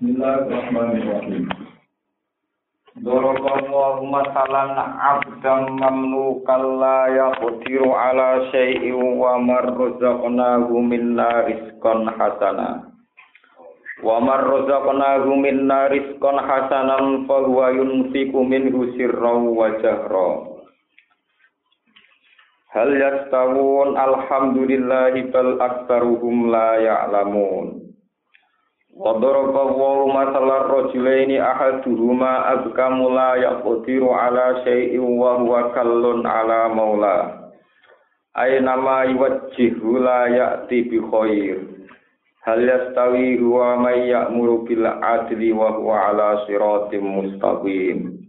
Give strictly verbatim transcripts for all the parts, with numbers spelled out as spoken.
Bismillahirrahmanirrahim. Daraballahu masalan 'abdan mamlukan la yaqdiru 'ala syai'in wa marrazaqnahu minna rizqan hasana. Wa marrazaqnahu minna rizqan hasanan fa huwa yunfiqu minhu sirran wa jahra. Hal yastawun alhamdulillahi bal aktsaruhum la ya'lamun. Wa daraba wa masalan rajulaini ahaduhuma azkamu la yaqdiru ala syai'in wa huwa kallun ala maula aina ma yuwajjihu la ya'ti bi khair hal yastawi huwa may ya'muru bil adli wa huwa ala siratim mustaqim.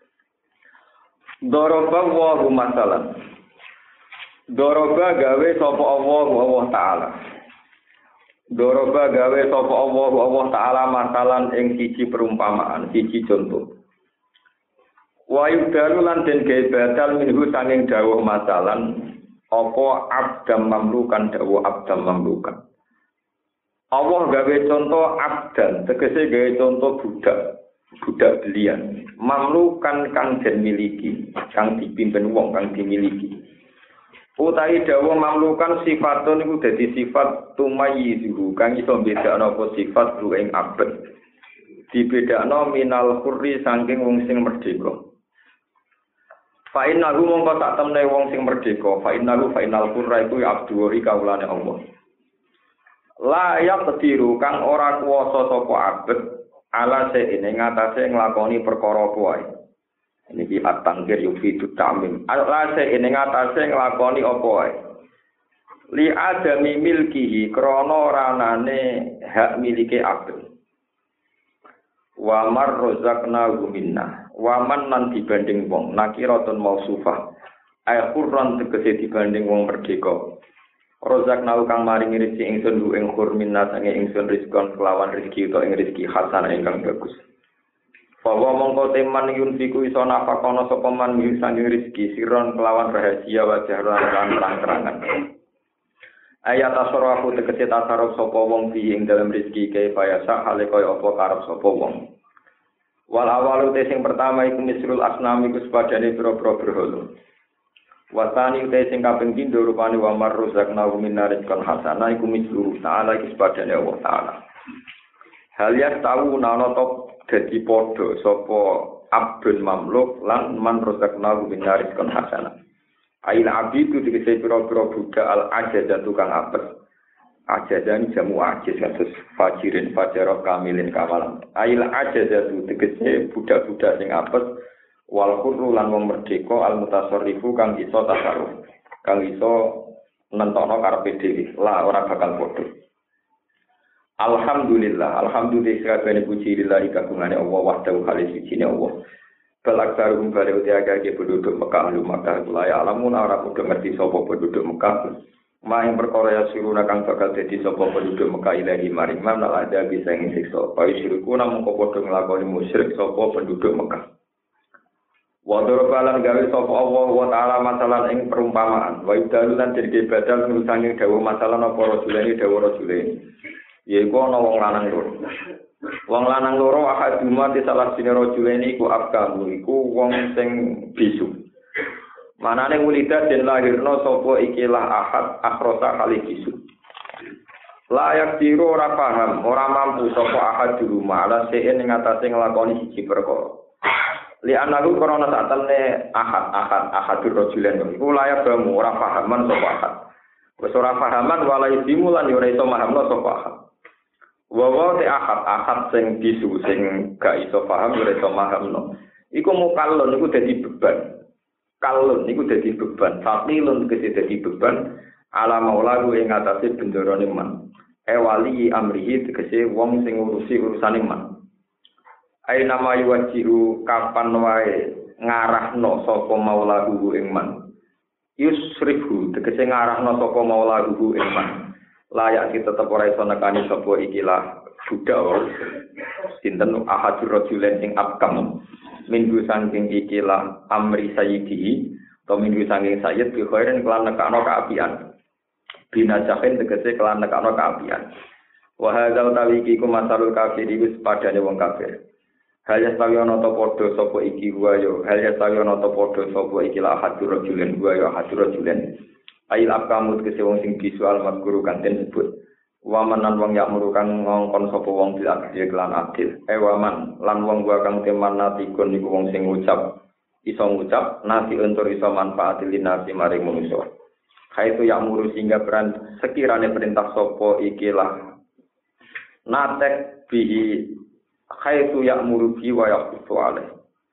Daraba wa masalan Daraba gawe sapa Allah Allah taala Doroba gawe sapa Allah Allah taala masalan ing siji perumpamaan, siji contoh. Wa yudalu lan den gawe badal minhu saking dawuh masalan apa abdam mamlukan dawuh abdam mamlukan. Allah gawe contoh abdan, tegese gawe contoh budak, budak belian. Mamlukan kang den miliki, kang dipimpin wong kang dimiliki. Utawi dawuh mamlukan sifatun iku dadi sifat tumayyizu kang iso bedakno apa sifat ku ing abad. Dibedakno minal hurri saking wong sing merdeka. Fa innahu mongko sak temne wong sing merdeka, fa innahu fa inal hurra iku abdu kaulane Allah. La yaqdiru kang ora kuwasa sapa abad ala seine ngatasé nglakoni perkara kuwi. Niki at-tangkir yufidu ta'mim. Alase ing ngatasé nglakoni apa wae. Li adami milkihi krana ranane hak milike abad. Wa marrazaqna minna. Wa man lan dibanding wong nakiratun mausufah. Ay qurran tegese dibanding wong merdeka. Razaqna kang maringi rezeki ingsun lu ing khur minna sange ingsun rizqan kelawan rezeki utawa ing rezeki hasan ingkang bagus. Bahwa mongko teman yunfiku iso nafakono sapa man sange rezeki siron kelawan rahasia wa jahran lan terang-terangan. Ayat tasarrufu tegese tasarruf sapa wong bi ing dalam rezeki kaya bayasa hale kaya apa karep sapa wong. Wal awalu te sing pertama iku misrul asnam iku sepadane pira-pira berhala. Wasani te sing kaping pindho rupane wa marruzaqna min rizqan hasana iku misru ta'ala iki sepadane Allah taala. Hal ya tahu nana top dadi padha sapa abdun mamluk lan man rozakna min rizqan hasana. Ail abidu dikese pira-pira budak al ajazah tukang apes. Ajadan jamu ajiz kados fajirin fajarah kamilin kawalan. Ail ajazah dikese budak-budak sing apes wal khurru lan wong merdeka al mutasarrifu kang iso tasarruf. Kang iso nentokno karepe dhewe. Lah ora bakal padha. Alhamdulillah, alhamdulillah sakabehane puji lillahi kagungane Allah wahdahu khalis sijine Allah. Balak sarum bali utiake penduduk Mekah lu Mekah kula ya alamun ora padha ngerti sapa penduduk Mekah. Maing perkara ya siruna kang bakal dadi sapa penduduk Mekah ilahi maring man ada bisa ing siksa. Payu sirku namung padha nglakoni musyrik sapa penduduk Mekah. Wa darabalan gawe sapa Allah wa taala masalan ing perumpamaan. Wa idalu lan dadi badal nurusange dawuh masalah apa rajulane dawuh rajulane. Yaiku ana wong lanang loro. Wong lanang loro ahaduma te salah sine rajulene iku afkamu iku wong sing bisu. Manane ulida den lahirna sapa ikilah ahad akhrosa kali bisu. Layak diru ora paham, ora mampu sapa ahad di rumah ala seen ing atase nglakoni siji perkara. Li anaku krana sak temne ahad ahad ahadur rajulen iku layak bamu ora pahaman sapa ahad. Wis ora pahaman walai dimulan yo ora iso mahamno sapa ahad. Wawa te akad akad sing bisu sing gak iso paham ora iso mahamno. Iku mukallon iku dadi beban. Kallon iku dadi beban. Faqilun kese dadi beban ala maulaku ing atase bendarane man. E wali amrihi tegese wong sing ngurusi urusane man. Ai nama yuwajihu kapan wae ngarahno sapa maulaku ing man. Yusrifu tegese ngarahno sapa maulaku ing man. Layak kita tetap ora iso nekani sapa ikilah budak sinten ahadur rajulen sing abkam minggu saking ikilah amri sayyidi atau minggu saking sayyid bi khairin kelan nekano kaapian binajahin tegese kelan nekano kaapian Wa hadzal tawiki ku masalul kafir wis padane wong kafir. Hal yastawi ana ta padha sapa iki wa yo hal yastawi ana ta padha sapa iki la hadur rajulen wa yo hadur rajulen. Ail akamut kese wong sing visual mazkuru kanten sebut. Waman lan wong yakmuru kang ngongkon sapa wong bil adil lan adil. E waman lan wong gua kang teman natikun niku wong sing ngucap iso ngucap nasi untuk iso manfaatil linasi maring manusa. Kaitu yakmuru sehingga peran sekirane perintah sapa ikilah natek bihi kaitu yakmuru bi wa yaqutu alai.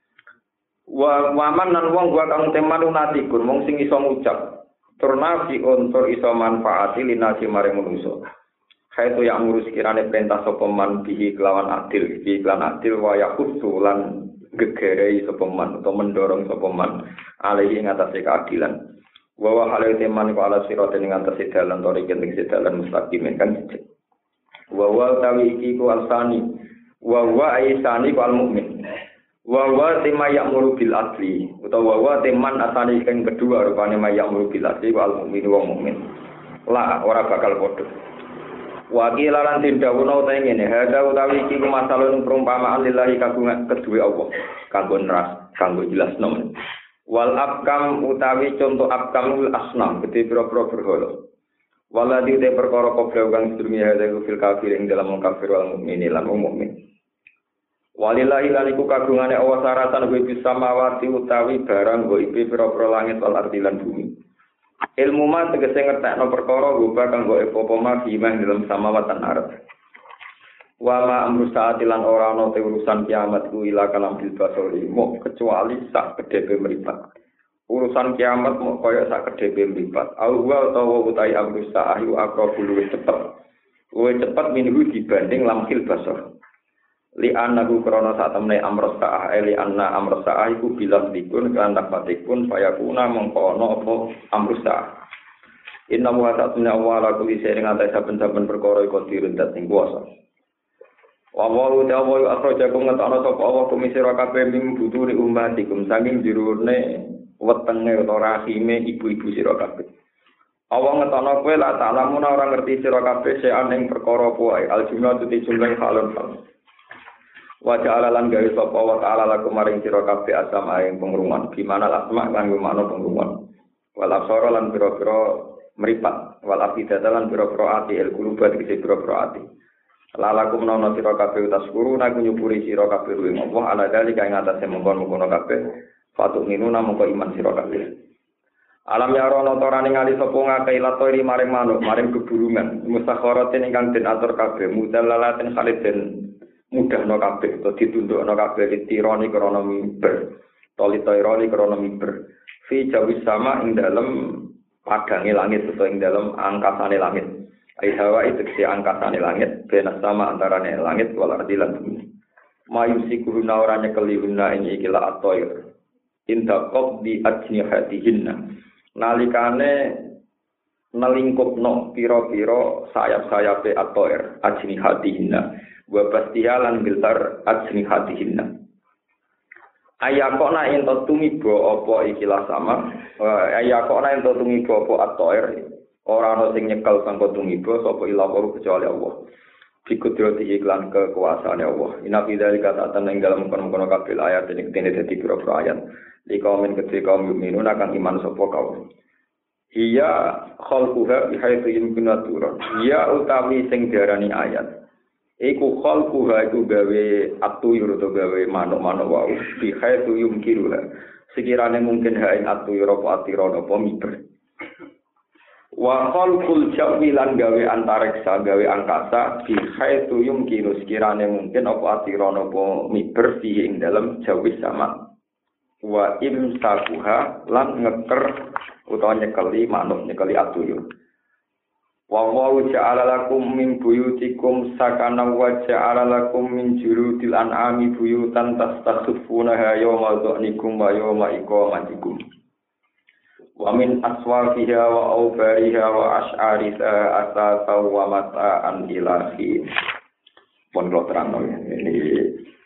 Wa waman lan wong gua kang teman natikun wong sing iso ngucap turnafi untuk iso manfaati linasi maring manusa. Kaitu yang ngurus kirane perintah sapa man bihi kelawan adil, bihi kelawan adil wa yaqutu lan gegerei sapa man utawa mendorong sapa man alaihi ing atase keadilan. Wa wa halal teman ku ala sirate ing atase dalan tori ing dalan mustaqim kan. Wa wa tawi iki ku alsani wa wa aisani ku almukmin. Wa wa tema ya'muru bil adli utawa wa teman asani kang kedua rupane ya'muru bil adli wa almukmin wa mukmin. La ora bakal padha. Wakil lan tindawono utahe ngene, hadza utawi iki masalahun perumpamaan lillahi kagungan kedue Allah, kanggo neras, kanggo jelasno. Wal abkam utawi contoh abkamul asnam, gede pira-pira berhala. Waladi te perkara kobra kang sedurunge hadza fil kafir ing dalam wong kafir wal mukmin lan wong mukmin. Walillahi lan iku kagungane Allah saratan wa bis samawati utawi barang nggo ipe pira-pira langit wal ardi lan bumi. Ilmu ma tegese ngertekno perkara rupa kanggo apa ma bimah dalam samawatan arep. Wa ma amru saati lan ora ana te urusan kiamat ku ila kalam bil basori mok kecuali sak kedhe mripat. Urusan kiamat mok kaya sak kedhe mripat. Au wa utawa utai amru saati aqrabul luwih cepet. Luwih cepet minggu dibanding lamhil basor. Li annahu krana sak temne amru saati li anna amru saati ku bilang dikun kan dapatikun fayakuna mongko ana apa amru saati. Inna wa ta'ala wa la kulli shay'in ata saben-saben perkara iku dirundat ing kuwasa. Wa wa ta'ala akhrajakum ngatana sapa Allah kumisira kabeh ming buturi ummatikum saking jirune wetenge utawa rahime ibu-ibu sira kabeh. Allah ngetana kowe la ta'lamu ora ngerti sira kabeh sean ing perkara apa wae aljumlah tuti jumlah halun hal. Wa ta'ala lan gawe sapa wa ta'ala lakum maring sira kabeh asam ing pengruman gimana asma kanggo makna pengruman. Wal absara lan pira-pira meripat wal afidata lan pira-pira ati el kulubat kese pira-pira ati lalakum nono sira kabeh taskuru nak nyupuri sira kabeh ing Allah ala dalika ing atase mongkon-mongkon kabeh fatuk minuna mongko iman sira kabeh alam ya rono torane ngali sapa ngakeh latori maring manuk maring keburungan mustakharatin ingkang den atur kabeh mudallalatin khaliden mudahno kabeh utawa ditundukno kabeh litironi krana mimber tolitironi krana mimber fi jawis sama ing dalem padange langit utawa ing dalam angkasane langit. Ai hawa itu si angkasane langit, benas sama antarane langit wal ardi lan bumi. Mayusikuruna ora nyekelihuna ing iki la atoir. Inda qabdi ajnihatihinna. Nalikane nelingkupno pira-pira sayap-sayape atoir ajnihatihinna. Wa bastihalan biltar ajnihatihinna. Ayakona ento tumiba apa ikilah sama ayakona ento tumiba apa atoir ora ana sing nyekel sangka tumiba sapa ilah kecuali Allah dikudrati iklan kekuasaane Allah ina bidzalika ta'atan ing dalam kono-kono kabeh ayat ing dene dadi pira-pira ayat li kaumin kedhe kaum mukminun akan iman sapa kaum iya khalquha bihaitsu yumkinu turun iya utawi sing diarani ayat iku khalquha iku gawe atuyur utawa gawe manuk-manuk wae bihae tuyum kiruha sekirane mungkin ha ing atuyur apa atira apa miber wa khalqul jawi lan gawe antariksa gawe angkasa bihae tuyum kiru sekirane mungkin apa atira apa miber fi ing dalem jawi sama wa imsakuha lan ngeker utawa nyekeli manuk nyekeli atuyur. Wa wa ja'ala lakum min buyutikum sakana wa ja'ala lakum min jurudil an'ami buyutan tastakhfunaha yawma dhanikum wa yawma iqamatikum. Wa min aswafiha wa awbariha wa ash'ariha asasa wa mata'an ilahi. Pun kalau terang ini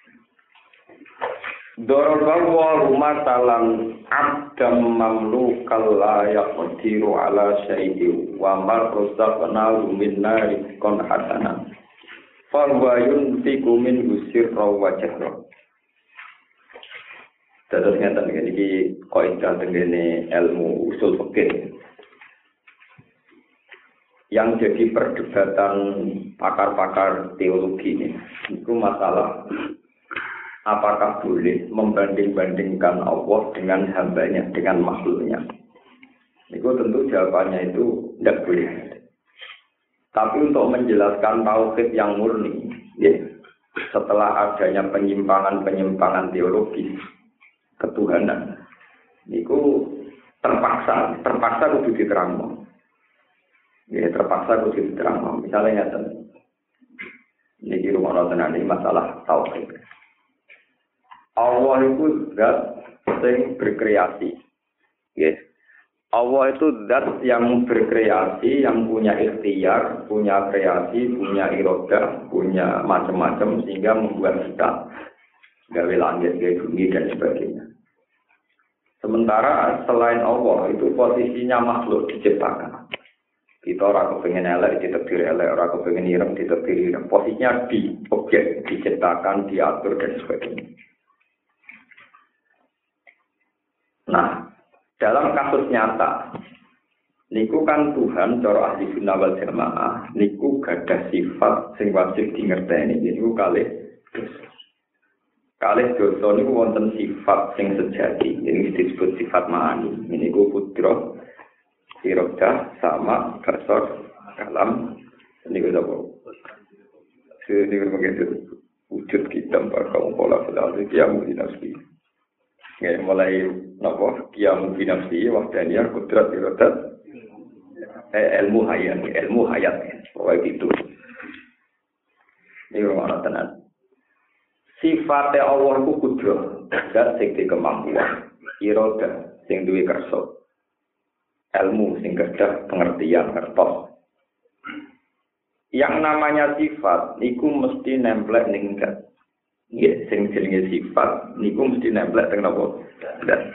Dorong wa rumatalan abdam mamlukal la yaqdiru ala syai'in wa mar rusaqna min nari kon hasana fa wa yunfiqu min usir wa jahra. Terus ngeten iki kaidah tengene ilmu usul fikih. Yang jadi perdebatan pakar-pakar teologi ini, itu masalah apakah boleh membanding-bandingkan Allah dengan hambanya, dengan makhluknya. Itu tentu jawabannya itu tidak boleh. Tapi untuk menjelaskan tauhid yang murni, ya, setelah adanya penyimpangan-penyimpangan teologis ketuhanan, itu terpaksa, terpaksa kudu diterangno. Ya, terpaksa kudu diterangno. Misalnya ngeten. Niki rumah tenan iki masalah tauhid. Allah itu zat yang berkreasi. Yes. Allah itu zat yang berkreasi, yang punya ikhtiar, punya kreasi, punya irodah, punya macam-macam sehingga membuat kita gawe langit, gawe bumi dan sebagainya. Sementara selain Allah itu posisinya makhluk diciptakan. Kita orang kepengen elek ditakdir elek, orang kepengen ireng ditakdir ireng. Posisinya di objek diciptakan, diatur dan sebagainya. Nah, dalam kasus nyata, niku kan Tuhan cara ahli sunnah wal jamaah, niku gadah sifat sing wajib dingerteni. Niku kalih dosa. Kalih dosa niku wonten sifat sing sejati, ini disebut sifat ma'ani. Niku putra, irodah, sama, kasar, kalam. Niku apa? Niku begitu wujud kita bakal pola pola kiamu di nafsi. Ya, mulai nopo kiamu binafsi wahdaniya kudrat irodat eh, ilmu hayat ilmu hayat pokoknya gitu ini rumah tenan sifatnya Allah ku kudrat dan sing kemampuan irodat sing duwe kersa ilmu sing kedah pengertian ngertos yang namanya sifat niku mesti nemplek ning zat. Ya, sing jenenge sifat niku mesti nemplek teng napa? Dan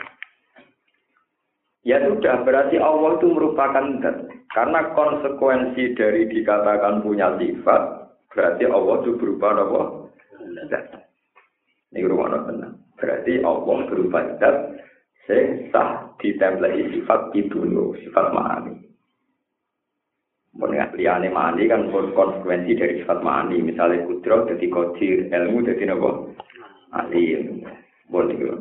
ya sudah berarti Allah itu merupakan zat. Karena konsekuensi dari dikatakan punya sifat berarti Allah itu berupa apa? Zat. Ini rumah tenang. Berarti Allah berupa zat sing sah ditempleki sifat itu lho, sifat ma'ani. Mengenai liyane ma'ani kan konsekuensi dari sifat ma'ani. Misalnya kudrat jadi qadir, ilmu jadi apa? Alim. Boleh gitu.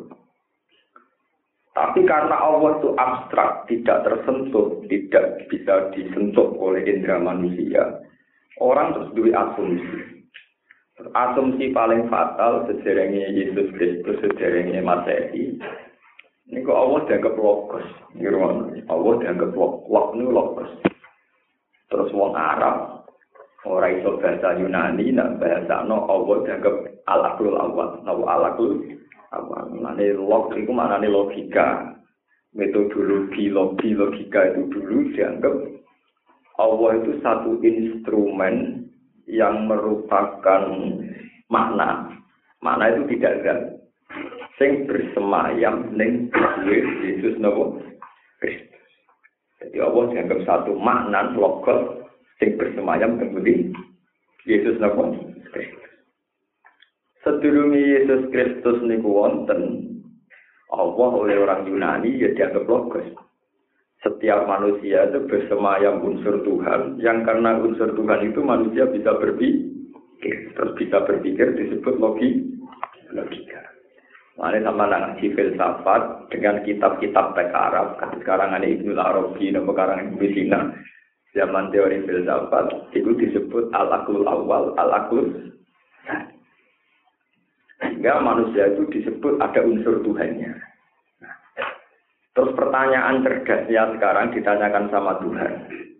Tapi karena Allah itu abstrak, tidak tersentuh, tidak bisa disentuh oleh indera manusia, orang terus duwe asumsi. Asumsi paling fatal sejarahnya Yesus Kristus, sejarahnya Masehi. Ini kok Allah dianggap logos. Allah dianggap logos, ini logos. Terus wong Arab ora iso bahasa Yunani nak bahasa no Allah dianggap al-aqlul awal, nawa al-aqlul awal. Mane log iku maknane logika. Metodologi logi logika itu dulu dianggap Allah itu satu instrumen yang merupakan makna. Makna itu tidak ada. Sing bersemayam ning Yesus napa? Kristus. Jadi Allah dianggap satu makna logos sing bersemayam kemudian Yesus napa? Kristus. Sedurunge Yesus Kristus niku wonten Allah oleh orang Yunani ya dianggap logos. Setiap manusia itu bersemayam unsur Tuhan yang karena unsur Tuhan itu manusia bisa berpikir, terus bisa berpikir disebut logi, logika. Makanya sama ngaji filsafat dengan kitab-kitab teks Arab. Sekarang ada Ibnu Arabi, nama karangan Ibnu Sina. Zaman teori filsafat itu disebut al-aqlul awal, al-aqlul tsani. Sehingga manusia itu disebut ada unsur Tuhannya. Nah, terus pertanyaan cerdasnya sekarang ditanyakan sama Tuhan.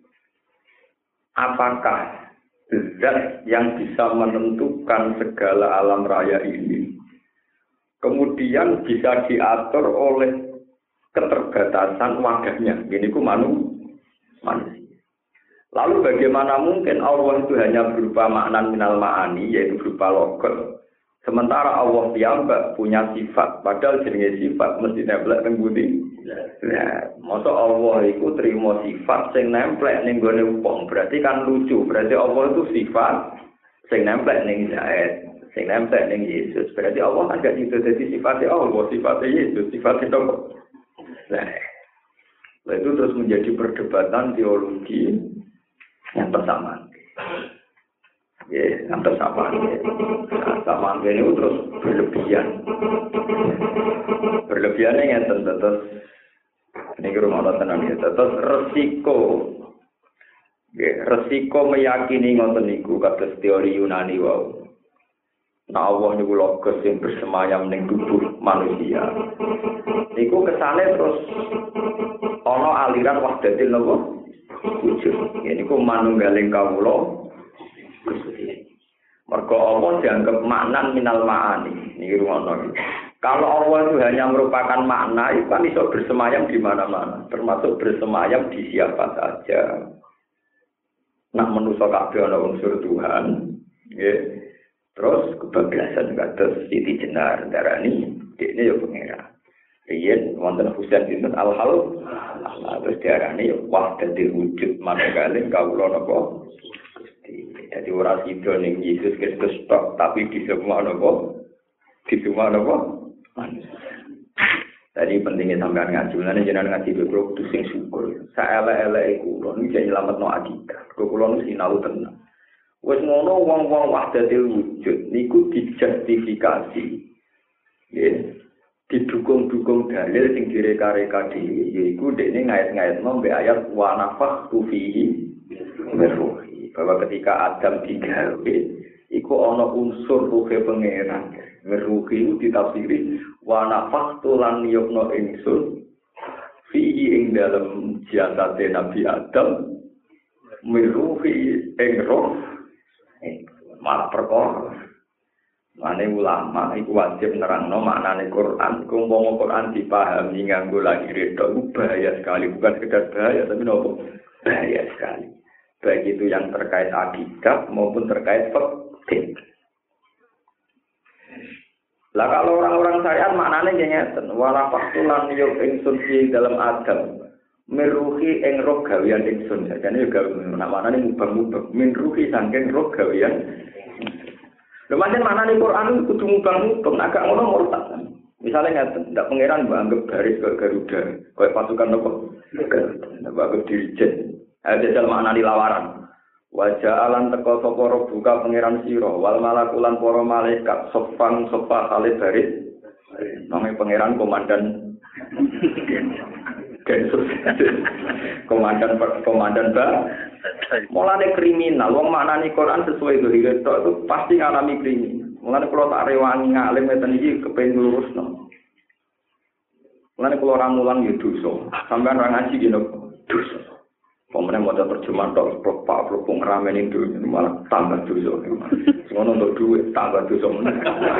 Apakah zat yang bisa menentukan segala alam raya ini kemudian bisa diatur oleh keterbatasan wadahnya? Ini ku manu, manusia. Lalu bagaimana mungkin Allah itu hanya berupa makna minal ma'ani, yaitu berupa logos. Sementara Allah piyambak punya sifat, padahal jenenge sifat mesti nemplek teng budi. Nah, masa Allah itu terima sifat sing nemplek ning gone wong, berarti kan lucu. Berarti Allah itu sifat sing nempel ning Zaid, sing nempel ning Yesus. Berarti Allah kan gak itu jadi sifatnya Allah, sifatnya Yesus, sifatnya dong. Nah, itu terus menjadi perdebatan teologi yang pertama. Ya, yang pertama. Pertama ini terus berlebihan. Berlebihannya yang tentu ini rumah Allah tenang ya. Terus resiko, ya, resiko meyakini ngoten niku kados teori Yunani wau. Nah Allah niku logos yang bersemayam ning tubuh manusia. Niku kesane terus ana aliran wahdatil napa wujud. Ya niku manunggaling kawula Gusti. Mergo Allah dianggap maknan minal ma'ani. Niki rumono. Kalau Allah itu hanya merupakan makna, itu kan bisa bersemayam di mana-mana, termasuk bersemayam di siapa saja. Nah, manusia kabeh ana unsur Tuhan, nggih. Terus kebablasan kados Siti Jenar darani, dekne ya pengira. Riyen wonten Husain bin Al-Hal, Allah terus diarani wahdatul wujud manunggaling kawula napa Gusti. Jadi ora sida ning Yesus Kristus tok, tapi di semua napa? Di semua napa? Tadi pentingnya sampean ngaji, mulane jenengan ngaji kulo kudu sing syukur. Saelek-eleke kulo niku jek nyelametno akidah. Kulo niku sinau tenan. Wis ngono wong-wong wahdatul wujud niku dijustifikasi. Nggih. Didukung-dukung dalil sing direka-reka dhewe, yaiku dekne ngait-ngaitno mbek ayat wa nafakhtu fihi min ruhi. Bahwa ketika Adam digawe iku ana unsur ruhe pangeran. Meruhi itu ditafsiri wa nafakhtu lan yukno ingsun fihi ing dalam jasad Nabi Adam meruhi ing roh malah perkara. Mane ulama iku wajib nerangno maknane Quran. Kumpama Quran dipahami nganggo lagi redo bahaya sekali, bukan sekedar bahaya tapi nopo bahaya sekali. Baik itu yang terkait akidah maupun terkait fikih. Lah kalau orang-orang syariat maknane ngeten, wala faqtulan yuk ingsun fi dalam Adam. Meruhi ing roh gawean ingsun. Jane yo gawe maknane mubang-mubang. Min ruhi saking roh gawean. Lha pancen maknane Quran kudu mubang-mubang, agak ngono murtad. Misalnya ngeten, ndak pangeran mbok anggap baris kaya Garuda, kaya pasukan nopo? Ndak anggap dirijen. Ada dalam maknane lawaran. Wajah alam teko sapa buka pangeran sira wal malakulan para malaikat sofang sofa kali baris namanya pangeran komandan Gensus komandan komandan ba mulane kriminal wong maknane Quran sesuai dhahire tok itu pasti ngalami kriminal mulane kula tak rewangi ngalim ngeten iki kepengin lurusno mulane kula ora mulang yo dosa sampean ora ngaji ki dosa. Pemenang mau terjemah tok propak propong ramen itu malah tambah dosa. Semua untuk duit tambah dosa mana?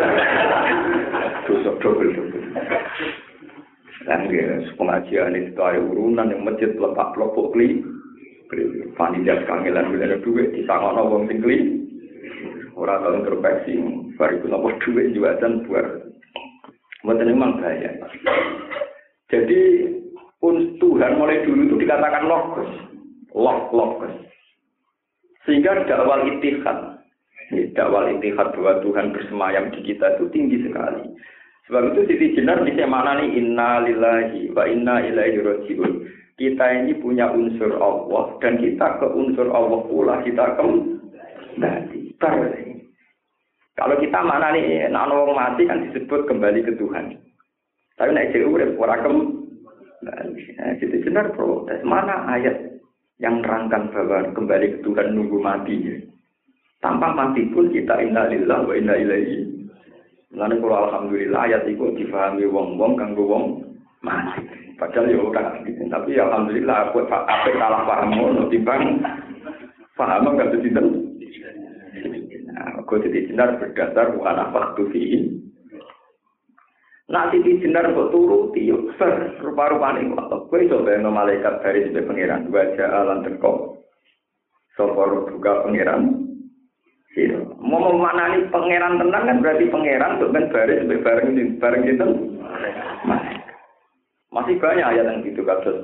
Dosa double double. Dan ya pengajian itu ada urunan yang masjid lepak pelopok kli. Panitia kangelan bila ada duit di sana orang tinggi. Orang tahu introspeksi, baru itu nopo duit juga dan buat. Mungkin memang bahaya. Jadi Tuhan mulai dulu itu dikatakan logos. Log-log sehingga dakwal ittihad dakwal ittihad bahwa Tuhan bersemayam di kita itu tinggi sekali. Sebab itu Siti Jenar bisa maknani inna lillahi wa inna ilaihi raji'un. Kita ini punya unsur Allah dan kita ke unsur Allah pula kita kembali. Kalau kita maknani nek wong mati kan disebut kembali ke Tuhan. Tapi nek dhewe urip ora kembali. Siti Jenar protes mana ayat yang nerangkan bahwa kembali ke Tuhan nunggu mati. Tanpa mati pun kita inna lillahi wa inna ilaihi. Mulane kula alhamdulillah ayat iku difahami wong-wong kanggo wong mati. Padahal ya ora gitu. Tapi alhamdulillah aku apik salah paham ngono timbang paham enggak sinten. Nah, kok Siti Jenar berdasar bukan apa tu fi. Nah, Siti Jenar kok turuti yo ser rupa-rupane kok. Kowe iso bayangno malaikat dari sebagai pangeran wajah alam teko. Sapa buka pangeran. Sira. Mau memanani pangeran tenan kan berarti pangeran kok ben baris sebagai bareng bareng sinten? Masih banyak ayat yang gitu kados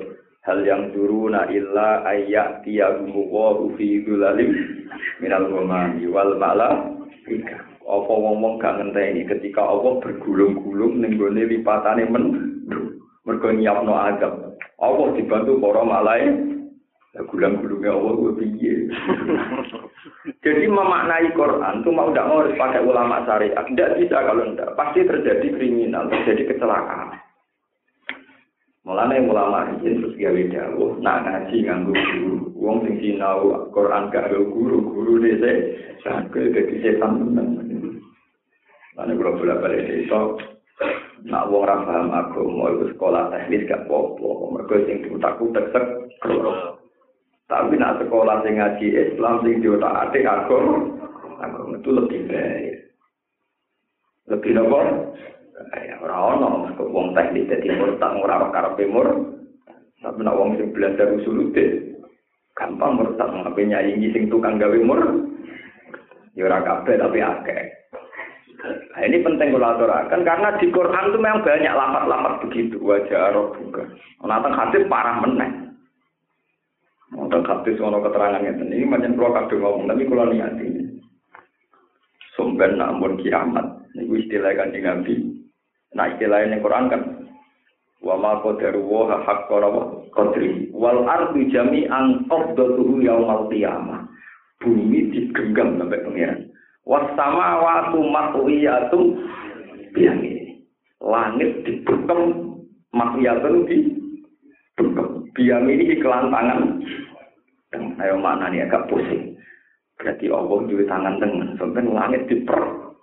hal yang turuna illa ayat tiyagumu wa fi dzulalim minal ghamami wal malaika. Apa wong-wong gak ngenteni ketika Allah bergulung-gulung ning gone lipatane men mergo nyiapno azab. Allah dibantu para malaikat. Gulung-gulungnya Allah kuwi piye. Jadi memaknai Quran itu mau tidak mau harus pakai ulama syariat. Tidak bisa kalau tidak. Pasti terjadi kriminal, terjadi kecelakaan. Mulanya ulama ini terus gawe dawuh, nak ngaji nganggo guru. Wong sing sinau Quran gak nganggo guru, guru dese sakit dadi setan tenan. Lan kula bola-balik itu nak wong ra paham agama iku sekolah teknis gak apa-apa. Mergo sing diutak-utak sek kloro. Tapi nak sekolah sing ngaji Islam sing diotak-atik agama, agama itu lebih baik. Lebih nopo? Ya ora ono wong teknik dadi murtad ora karepe mur. Tapi nak wong sing belajar usuluddin gampang murtad ngapain nyaingi sing tukang gawe mur. Ya ora kabeh tapi akeh. Nah, ini penting kalau aturakan karena di Quran itu memang banyak lafaz-lafaz begitu wajah Arab juga. Nonton hadis parah meneh. Nonton hadis ono keterangannya ini macam kalau kadang ngomong tapi kalau niati. Sumber namun kiamat. Ini istilah Kanjeng Nabi. Nah istilah ini Quran kan wa ma qadaru wa haqqara qadri wal ardu jami'an qabdatuhu yaumal qiyamah. Bumi digenggam sampai pengiran. Wasama watu matwiyatum biyami. Langit dibekem matwiyatun di bekem. Biyami ini kelantangan. Ayo mana nih agak pusing. Berarti Allah juga tangan tengah. Sampai langit diper.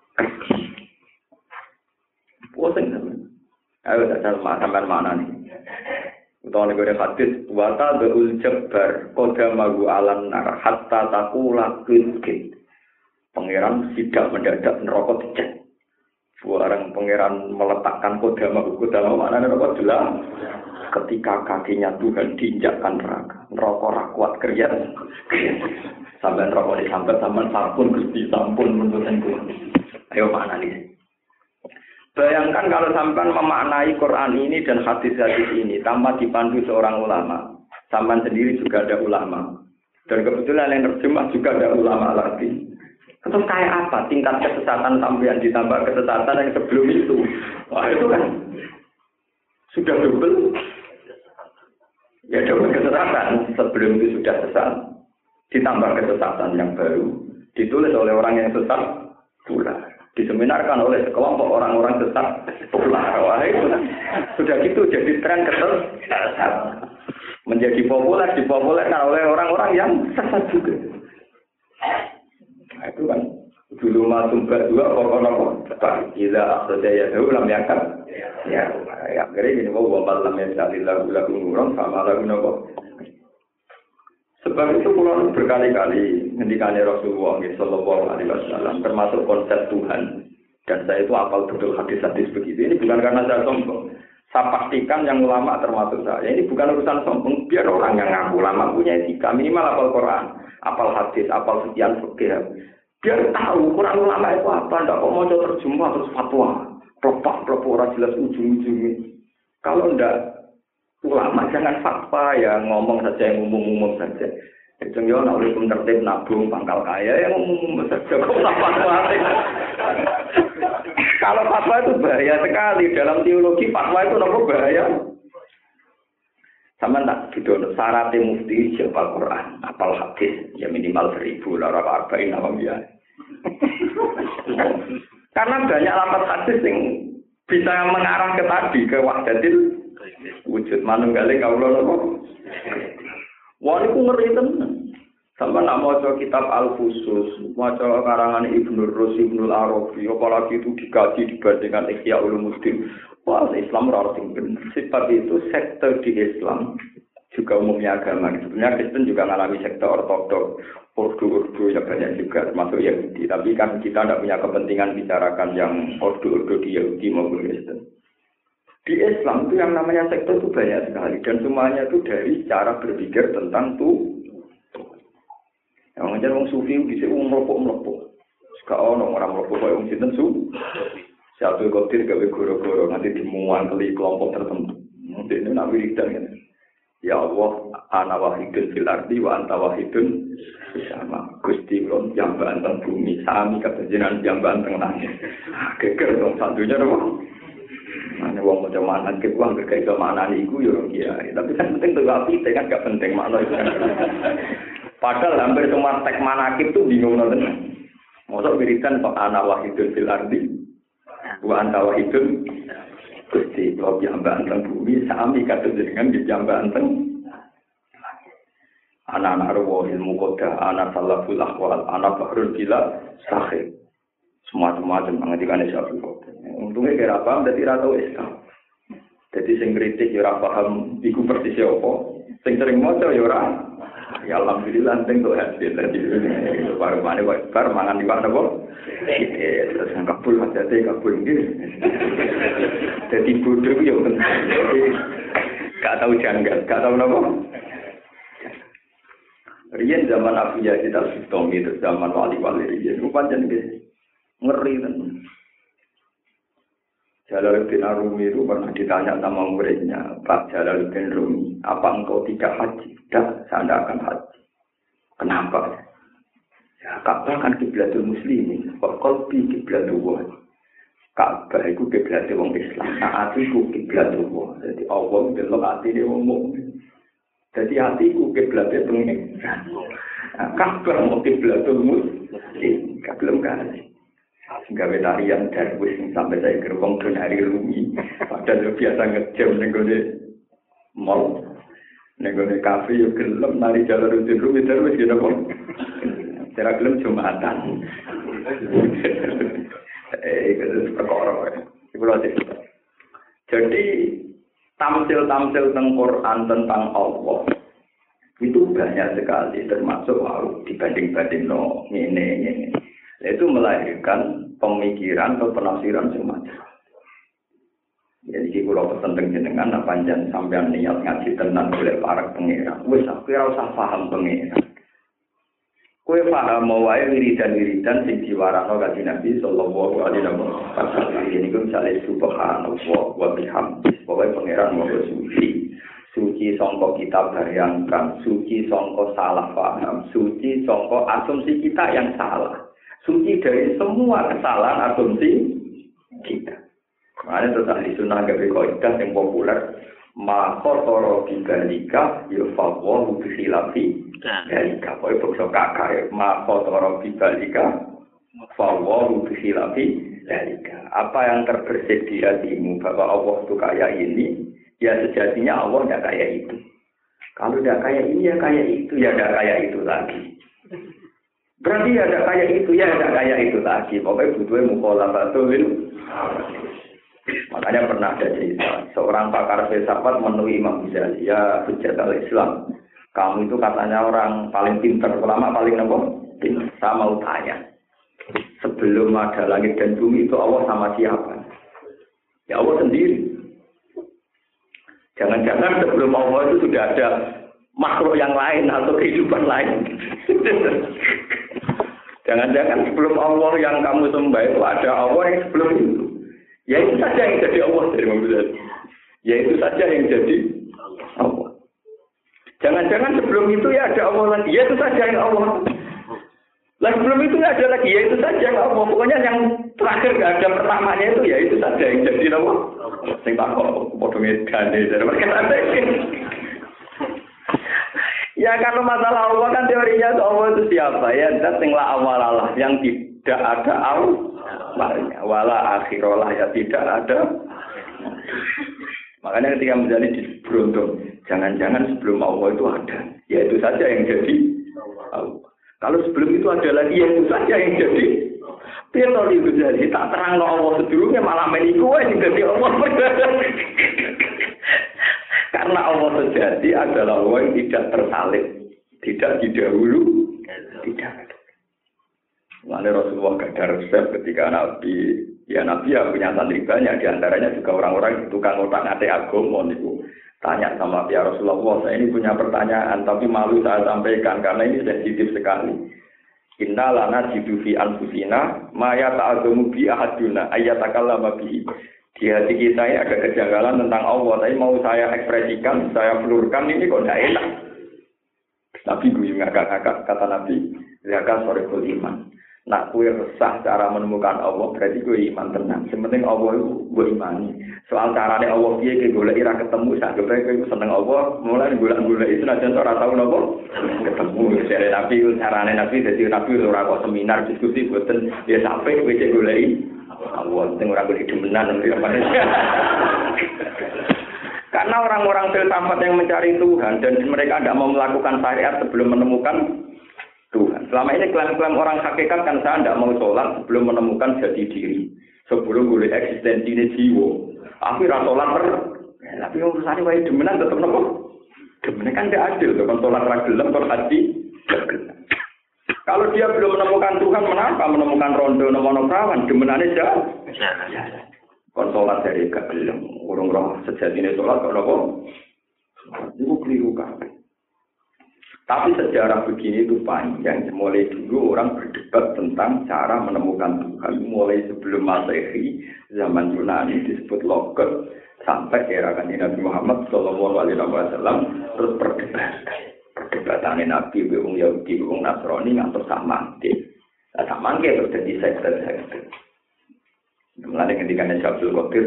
Pusing sampai. Ayo tak sampai mana nih. Utawa nek ora hadis wata beul jabbar qadamahu alan nar hatta taqula kit. Pangeran tidak mendadak neraka dicek. Barang pangeran meletakkan qadamahu qadamahu maknane neraka jelas. Ketika kakinya Tuhan diinjakkan neraka, neraka ra kuat kerja. Sampai neraka disambat sampean sampun Gusti sampun menuruten kula. Ayo mana nih? Bayangkan kalau sampean memaknai Quran ini dan hadis-hadis ini tanpa dipandu seorang ulama. Sampean sendiri juga ada ulama. Dan kebetulan yang terjemah juga ada ulama lagi. Terus kayak apa tingkat kesesatan sampean ditambah kesesatan yang sebelum itu? Wah itu kan sudah double. Ya double kesesatan sebelum itu sudah sesat. Ditambah kesesatan yang baru ditulis oleh orang yang sesat pula. Diseminarkan oleh sekelompok orang-orang sesat pula. Wah itu sudah gitu jadi tren kesesatan. Menjadi populer dipopulerkan oleh orang-orang yang sesat juga. Nah, itu kan dulu masuk dua pokok-pokok cepat gila akhirnya ya ulam yakan ya ya akhirnya ini mau malam yang tadi lagu lagu ngurang sama lagu nopo sebab itu pulau berkali-kali ngendikannya Rasulullah Shallallahu Alaihi Wasallam termasuk konsep Tuhan dan saya itu apal betul hadis-hadis begitu ini bukan karena saya sombong saya pastikan yang ulama termasuk saya ini bukan urusan sombong biar orang yang ngaku ulama punya etika minimal apal Quran apal hadis apal sekian fikih biar tahu Quran ulama itu apa, ndak kok mau terjemah terus fatwa, pelopak-pelopak orang jelas ujung-ujungnya. Kalau ndak ulama jangan fatwa ya ngomong saja yang umum-umum saja. Itu yo nak oleh tertib nabung pangkal kaya yang umum saja kok fatwa. Kalau fatwa itu bahaya sekali dalam teologi fatwa itu nopo bahaya. Sama tak gitu, syaratnya mufti siapa Quran, apal hadis, ya minimal seribu, lara arba'in apa biar. Karena banyak lafaz hadis yang bisa mengarah ke tadi, ke wahdatil wujud manunggalnya kaulah nopo. Wah itu ngeri tenan. Sama nak maca kitab Al-Fusus, maca karangan Ibnu Rus, Ibnu Arabi, apalagi itu dikaji dibandingkan Ihya Ulumuddin. Wah, Islam ora sing bener. Sebab itu sekte di Islam juga umumnya agama. Sebenarnya Kristen juga mengalami sekte ortodok, ordo-ordo ya banyak juga termasuk Yahudi. Tapi kan kita tidak punya kepentingan bicarakan yang ordo-ordo di Yahudi maupun Kristen. Di Islam itu yang namanya sekte itu banyak sekali dan semuanya itu dari cara berpikir tentang tuh. Yang ngajar wong sufi bisa wong merokok-merokok. Sekarang orang merokok kayak wong sinten su. Satu kotir gawe goro-goro nanti dimuang kali kelompok tertentu. Nanti ini nak wiridan kan. Ya Allah, ana wahidun fil ardi wa anta wahidun sama Gusti kula jambaan teng bumi sami kajenengan jambaan teng langit. Geger dong satunya dong. Mana wong macam mana ke uang berkait sama anak iku yo kiai. Tapi kan penting tuh api, kan gak penting makna itu. Padahal hampir semua teks manakib tuh bingung nonton. Mosok wiridan kok ana wahidun fil ardi wa anta wahidun Gusti kula jambaan teng bumi sami kajenengan jambaan teng anak-anak roh ilmu koda, anak salaful akwal, anak bahrul bila sahih. Semua-semacam mengajikan Syafi'i koda. Untungnya kira paham, jadi rata Islam. Jadi sing kritik ya paham, iku persis apa. Sing sering maca ya ora. Ya alhamdulillah sing tuh hasil. Jadi baru mana baru mangan di mana kok. Terus kabul hati kabul gitu. Jadi bodoh ya kan. Gak tahu janggal, gak tahu apa. Riyen zaman Abu Yazid Al-Bustami itu zaman wali-wali riyen pancen nggih ngeri tenan. Jalaluddin Arumi itu pernah ditanya sama muridnya, Pak Jalaluddin Rumi, apa engkau tidak haji? Tidak, saya tidak akan haji. Kenapa? Ya, Ka'bah kan kiblatul muslimin, wa qalbi kiblatul wah. Ka'bah itu kiblatul wong Islam, nah atiku kiblatul wah. Jadi Allah delok atine wong mukmin. Jadi hatiku kiblatnya pengen. Kabar mau kiblatul muslim, belum kali. Sehingga tarian darwis sampai saya gerbong ke hari Rumi. Padahal biasa ngejam nenggone mall, nenggone kafe yuk gelem nari Jalaluddin Rumi darwis gitu pun. Cara gelem Jumatan. Eh, itu perkara. Ibu lagi. Jadi tamsil-tamsil tentang Quran tentang Allah itu banyak sekali, termasuk wow, dibanding-banding no ini ini itu melahirkan pemikiran atau penafsiran semacam. Jadi kalau tentang jenengan apa panjang sampean niat ngaji tenan boleh para pengira, wes aku ora usah paham pengira. Kowe paham wae wiridan-wiridan sing diwarano kanjeng Nabi sallallahu alaihi wasallam. Ini ku misale subhanallah wa bihamdihi. Pokoke pangeran mau suci. Suci sangka kita bayangkan, suci sangka salah paham, suci sangka asumsi kita yang salah. Suci dari semua kesalahan asumsi kita. Makanya terus ahli sunnah gawe kaidah yang populer, ma qatara bibalika yufawwahu bihilafi dalika. Pokoke bangsa kakak ma qatara bibalika fawwahu bihilafi dalika. Apa yang terbersit di hatimu bahwa Allah itu kayak ini, ya sejatinya Allah tidak kayak itu. Kalau tidak kayak ini ya kayak itu, ya tidak kayak itu lagi. Berarti ya tidak kayak itu, ya tidak kayak itu lagi. Pokoknya butuhnya mukhalafatul. Makanya pernah ada cerita, seorang pakar filsafat menemui Imam Ghazali, ya hujjat al-Islam. Kamu itu katanya orang paling pintar, ulama paling apa? Pintar. Saya mau tanya, sebelum ada langit dan bumi itu Allah sama siapa? Ya Allah sendiri. Jangan-jangan sebelum Allah itu sudah ada makhluk yang lain atau kehidupan lain. Jangan-jangan sebelum Allah yang kamu sembah itu ada Allah yang sebelum itu. Ya itu saja yang jadi Allah dari Muhammad. Ya itu saja yang jadi Allah. Jangan-jangan sebelum itu ya ada Allah lagi. Ya itu saja yang Allah. Lah sebelum itu nggak ada lagi. Ya itu saja yang Allah. Pokoknya yang terakhir nggak ada pertamanya itu ya itu saja yang jadi Allah. Sing tak kok potong edane dari mereka ada. Ya kalau masalah Allah kan teorinya Allah itu siapa ya? Zat sing la awal Allah yang tidak ada Allah. Wala akhirolah ya tidak ada. Makanya ketika menjadi di beruntung, jangan-jangan sebelum Allah itu ada. Ya itu saja yang jadi Allah. Kalau sebelum itu ada lagi, ya itu saja yang jadi. Pietro itu jadi tak terang Allah sebelumnya malah meniku yang jadi Allah. Karena Allah sejati adalah Allah yang tidak tersalib, tidak didahulu, tidak. Mengenai Rasulullah gak ada resep ketika Nabi, ya Nabi ya punya santri banyak, diantaranya juga orang-orang tukang otak ngate agama niku. Tanya sama ya Rasulullah, saya ini punya pertanyaan, tapi malu saya sampaikan karena ini sensitif sekali. Inna lana jidu fi anfusina, maya ta'adumu bi ahaduna, ayatakallama bihi. Di hati kita ini ada kejanggalan tentang Allah, tapi mau saya ekspresikan, saya pelurkan ini kok tidak enak. Nabi gue ngakak-ngakak, kata Nabi, zakat sore iman. Nak kue resah cara menemukan Allah, berarti gue iman tenang. Sementing Allah itu gue imani. Soal caranya Allah dia ke golek ira ketemu, sak gue gue seneng Allah, mulai golek-golek itu nanti orang tahu nopo ketemu. Dari Nabi itu caranya Nabi, jadi Nabi orang kok seminar diskusi buatan dia sampai gue cek golek. Allah, tengok orang berhidupan nanti apa Karena orang-orang filsafat yang mencari Tuhan dan mereka tidak mau melakukan syariat sebelum menemukan Tuhan. Selama ini klaim-klaim orang hakikat kan saya tidak mau sholat sebelum menemukan jati diri, sebelum boleh eksistensi ini jiwa. Aku rasa sholat per, ya, tapi urusannya wajib demenan tetap nopo. Demenan kan tidak adil, kan sholat ragelam, sholat haji. Kalau dia belum menemukan Tuhan, kenapa menemukan rondo nomono perawan? Demenannya jauh. Kon sholat dari gagelam, urung roh sejatinya sholat kok nopo? Itu keliru kan? Tapi sejarah begini itu panjang. Mulai dulu orang berdebat tentang cara menemukan Tuhan. Mulai sebelum Masehi, zaman Yunani disebut logot, sampai era kanjeng Nabi Muhammad Shallallahu Alaihi Wasallam terus perdebatan. Perdebatannya Nabi, wong Yahudi, wong Nasrani ngantos samangke. Nah, samangke terus jadi sekte-sekte. Mulai ketika Abdul Qadir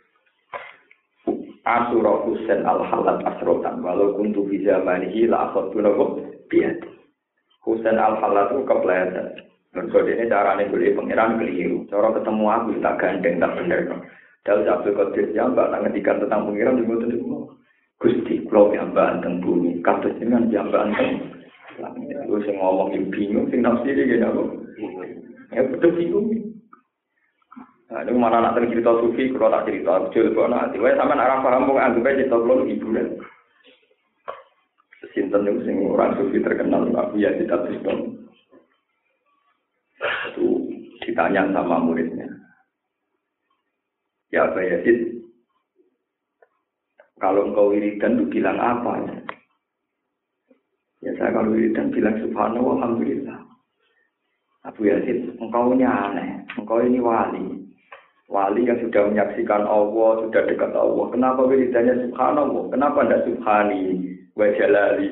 Asura Husain al-Halat asrotan walau kuntu fi zamanihi la akhadtu lahu biyad. Husain al-Halat itu kepleset. Mergo dene carane golek pangeran keliru. Cara ketemu aku tak gandeng tak bener. Dawuh Abdul Qadir jambak nang ngendikan tentang pangeran di mboten niku. Gusti kula jambak teng bumi, kados jenengan jambak teng langit. Lu sing ngomong bingung sing nafsi iki ya kok. Ya betul bingung. Nah, ini mana nak cerita sufi, kalau tak cerita, jujur, kalau nanti, wah sampai arah paham, mau anggap aja cerita belum hiburan. Sinten itu sing orang sufi terkenal, Abu Yazid Al-Bustami. Itu ditanya sama muridnya. Ya Abu Yazid, kalau engkau wiridan itu bilang apa? Ya saya kalau wiridan bilang subhanallah, alhamdulillah. Abu Yazid, engkau ini aneh, engkau ini wali. Wali yang sudah menyaksikan Allah, sudah dekat Allah. Kenapa wiridannya subhanallah? Kenapa tidak subhani wa jalali?